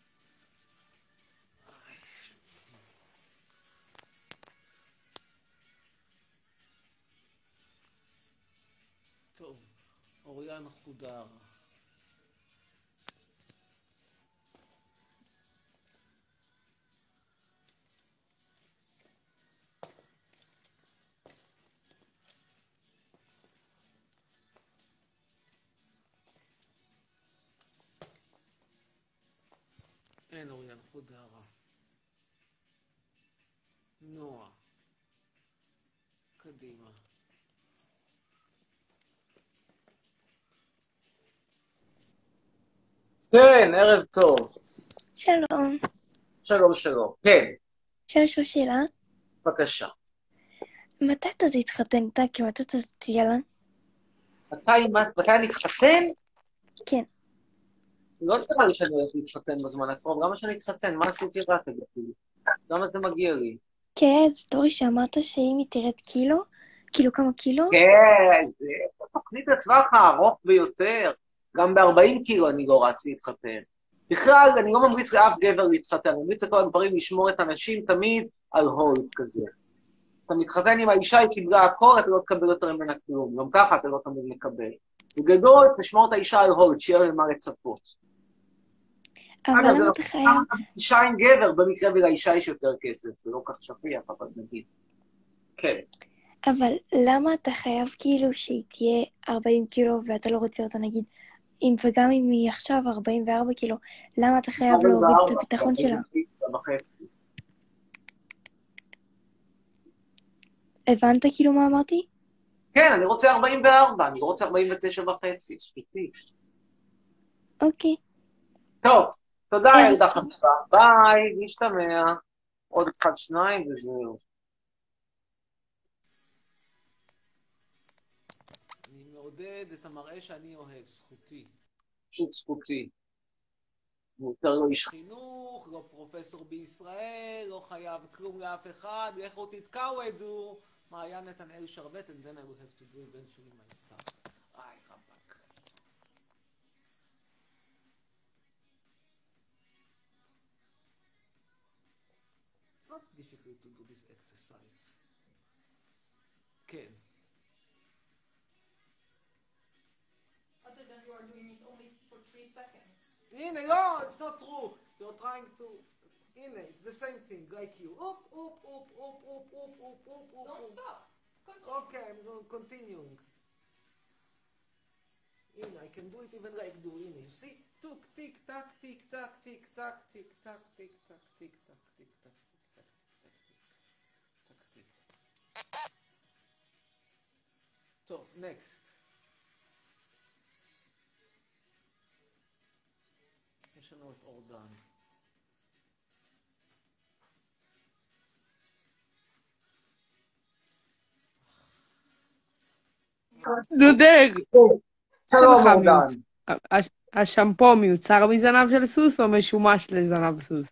טוב, אוריאן חודר. אין אוריאן חודרה. נועה. קדימה. כן, ערב טוב. שלום. שלום, שלום. כן, אפשר לשאול שאלה? בבקשה. מתי אתה תתחתן איתה? כי מתי אתה תהיה לה? מתי אני אתחתן? כן. לא נראה לי שאני הולך להתחתן בזמן הקרוב. למה שאני אתחתן? מה עשיתי רע כזה? למה זה מגיע לי? כן, סטורי שאמרת שאם היא תרד קילו, כאילו כמה קילו? כן, זה תוכנית לטווח הארוך ביותר. גם ב-40 קילו אני לא רץ להתחתן. בכלל, אני לא ממליץ לאף גבר להתחתן. אני ממליץ לכל הגברים לשמור את הנשים תמיד על הולד כזה. אתה מתחתן עם האישה, היא קיבלה הכל, אתה לא תקבל יותר ממנה כלום. גם ככה אתה לא תמיד מקבל. בגדול, תשמור את האישה על הולד, שיהיה למה לצפות. אבל למה אתה חייב? אישה עם גבר, במקרה ולאישה יש יותר כסף. זה לא כך שפיע, אבל נגיד. כן. אבל למה אתה חייב כאילו שהיא תהיה 40 קילו ואתה לא רוצה אותה נגיד, וגם אם היא עכשיו 44 קילו, למה אתה חייב להוריד את הביטחון שלה? הבנת כאילו מה אמרתי? כן, אני רוצה 44, אני לא רוצה 49 וחצי, שפיטי. אוקיי. טוב, תודה ילדה חמודה, ביי, נשתמע. עוד אחד, שניים וזהו. אני מעודד את המראה שאני אוהב, זכותי. פשוט זכותי. יותר לא איש חינוך, לא פרופסור בישראל, לא חייב כלום לאף אחד, לכו תתקעו, מעיין נתנאל שרבט, and then I will have to do eventually my stuff. איי, רבק. It's not difficult to do this exercise. כן. Other than you are doing it only for 3 seconds. הנה, לא, it's not true. You're trying to... הנה, it's the same thing, like you. Up, up, up, up, up, up, up, up, up. Don't stop. Continue. Okay, I'm continuing. הנה, I can do it even like do. הנה, you see? Tuk, tick, tack, tick, tack, tick, tack, tick, tack, tick, tack, tick, tack, tick, tack, tick, tack, tick, tack. טוב, next. יש לנו את אורדן. דודק, שלום אורדן. השמפו מיוצר מזנב של סוס או משומש לזנב סוס?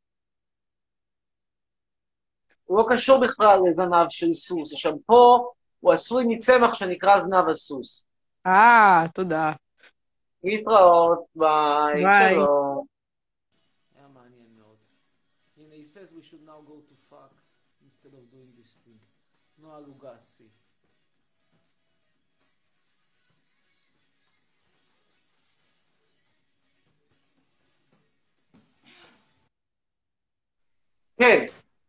הוא לא קשור בכלל לזנב של סוס. השמפו הוא עשוי מצמח שנקרא זנב הסוס. תודה. להתראות, ביי. שלום. היה מעניין מאוד. הנה, he says we should now go to fuck instead of doing this thing. נועה לוגסי. כן.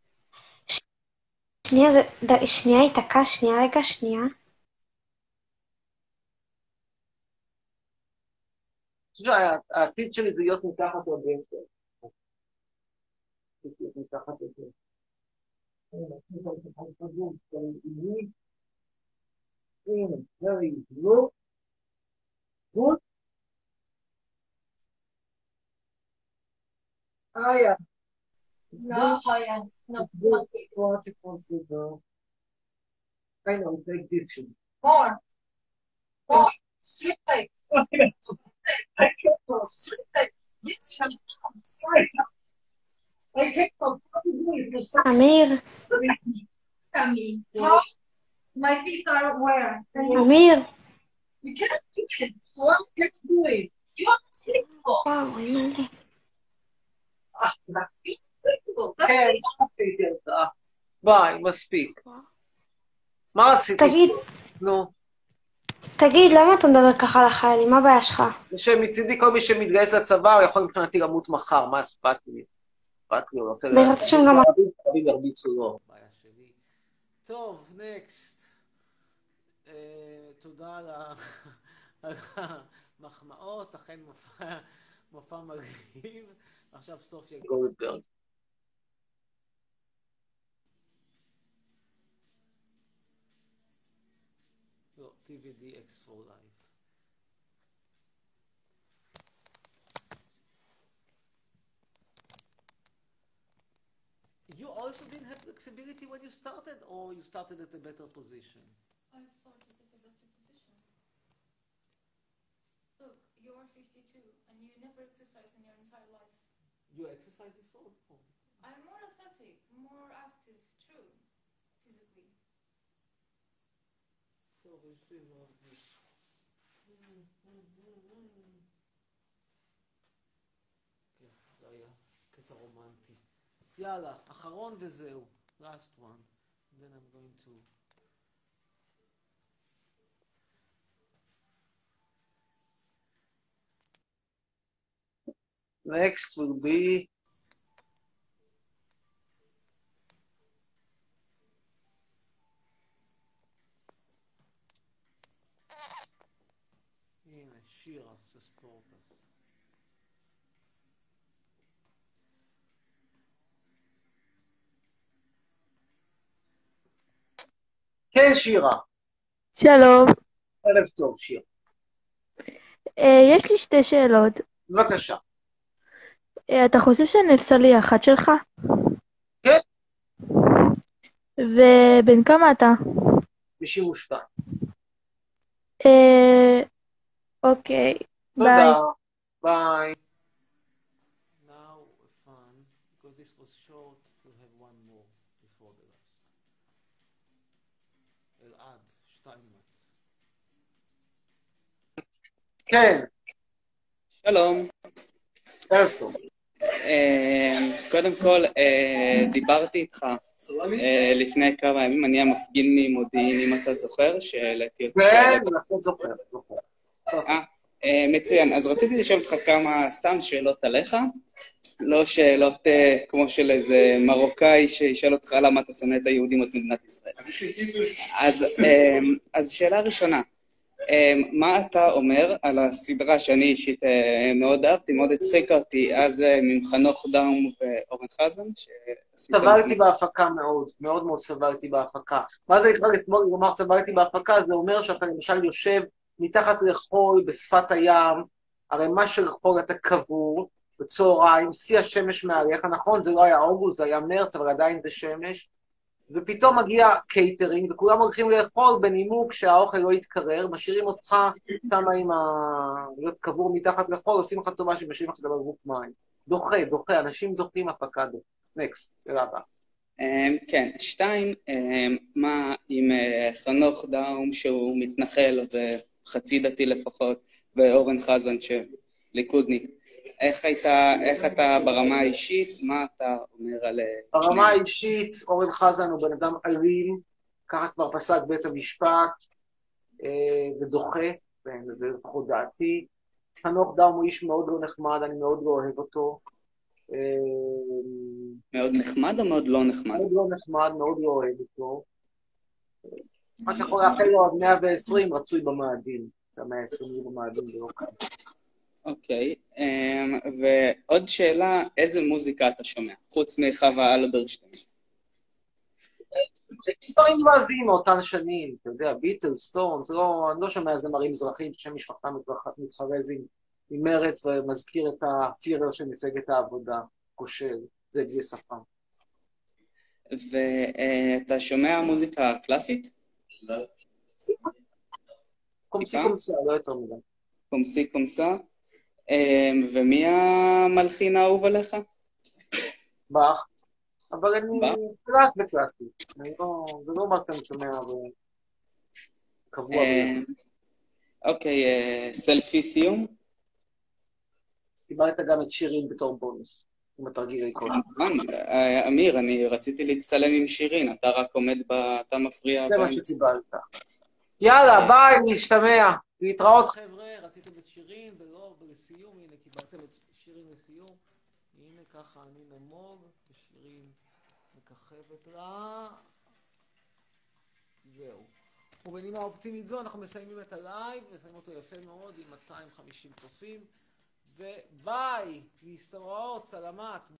שנייה התעקה, שנייה. העתיד שלי זה להיות מתחת לגשר. מתחת לגשר. very good. Good. Yeah. No, yeah. No. What you want to do? I know, take this. More. Straight legs. Straight legs. Yes, I'm sorry. I can't אמיר. How? My feet are where? אמיר. You can't do it. What can you do it? You are flexible. וואו, אין מלא. כן, עשיתי אותה. ביי, מספיק. מה עשיתי? תגיד, נו. תגיד, למה אתה מדבר ככה על החיילים? מה הבעיה שלך? שמצידי כל מי שמתגייס לצבא, הוא יכול מבחינתי למות מחר. מה אכפת לי? אכפת לי, הוא רוצה... בעזרת השם גם... רבים ירביצו לו. בעיה שלי. טוב, נקסט. תודה על המחמאות, אכן מופע מרהיב. עכשיו סופיה גולדברג. TVDX4 Live. You also didn't have flexibility when you started, or you started at a better position? I started at a better position. Look, you are 52 and you never exercised in your entire life. You exercised before? Oh. I'm more athletic, more active, true, physically. So we see what this. כן, זה היה קטע רומנטי. יאללה, אחרון וזהו. Last one. Then I'm going to... Next will be הנה, שירה, ספורטס. כן, שירה. שלום. ערב טוב, שירה. יש לי שתי שאלות. בבקשה. אתה חושב שנפסל לי אחת שלך? כן. ובן כמה אתה? 92. אוקיי, ביי. תודה. ביי. Now fun, because this was short, we'll have one more before the last. אלעד, שטיינמץ. כן. שלום. ערב טוב. קודם כל, דיברתי איתך לפני כמה ימים, אני המפגין ממודיעין, אם אתה זוכר, שהעליתי אותך. כן, אנחנו זוכר. מצוין, אז רציתי לשאול אותך כמה סתם שאלות עליך, לא שאלות כמו של איזה מרוקאי שישאל אותך למה אתה שונא את היהודים את מדינת ישראל. אז שאלה ראשונה, מה אתה אומר על הסדרה שאני אישית מאוד אהבתי, מאוד הצחיקה אותי, אז ממחנוך דאום ואורן חזן? סבלתי בהפקה מאוד, מאוד מאוד סבלתי בהפקה. מה זה נקרא לומר סבלתי בהפקה? זה אומר שאתה למשל יושב מתחת לחול בשפת הים, הרי מה שחול אתה קבור בצהריים, שיא השמש מעליך, נכון? זה לא היה אוגוסט, זה היה מרץ, אבל עדיין זה שמש. ופתאום מגיע קייטרינג, וכולם הולכים לאכול בנימוק שהאוכל לא יתקרר, משאירים אותך כמה עם להיות קבור מתחת לחול, עושים לך טובה שמשאירים לך בבקבוק מים. דוחה, אנשים דוחים הפקה דוחה. נקסט, שאלה הבאה. כן, 2, מה עם חנוך דאום שהוא מתנחל וחצי דתי לפחות, ואורן חזן שליכודניק? איך אתה ברמה האישית, מה אתה אומר על... ברמה האישית, אורן חזן הוא בן אדם אלים, ככה כבר פסק בית המשפט, ודוחה, וזה לפחות דעתי. חנוך דאום הוא איש מאוד לא נחמד, אני מאוד לא אוהב אותו. מאוד נחמד או מאוד לא נחמד? מאוד לא נחמד, מאוד לא אוהב אותו. רק יכול לאחל לו עד 120 רצוי במאדים. את 120 במאדים זה לא כאן. אוקיי, ועוד שאלה, איזה מוזיקה אתה שומע? חוץ מחווה אלברשטיין. דברים מבזים מאותן שנים, אתה יודע, ביטלס, סטונס, אני לא שומע זמרים מזרחים ששם משפחתם מתחרז עם מרץ ומזכיר את הפירר של מפלגת העבודה, כושל, זה בלי שפה. ואתה שומע מוזיקה קלאסית? קומסי קומסה, לא יותר מדי. קומסי קומסה. ומי המלחין האהוב עליך? באך. אבל אני קלאס בקלאסית. זה לא מה שאני שומע קבוע. אוקיי, סלפי סיום? קיבלת גם את שירין בתור בונוס, עם התרגיל קודם. אמיר, אני רציתי להצטלם עם שירין, אתה רק עומד אתה מפריע. זה מה שקיבלת. יאללה, ביי, נשתמע. להתראות חבר'ה, רציתם את שירין ולא לסיום, הנה קיבלתם את שירין לסיום. הנה ככה אני נמוג, ושירין מככבת לה. זהו. ובנימה אופטימית זו אנחנו מסיימים את הלייב, מסיימים אותו יפה מאוד עם 250 צופים. וביי, להסתראות, סלמת.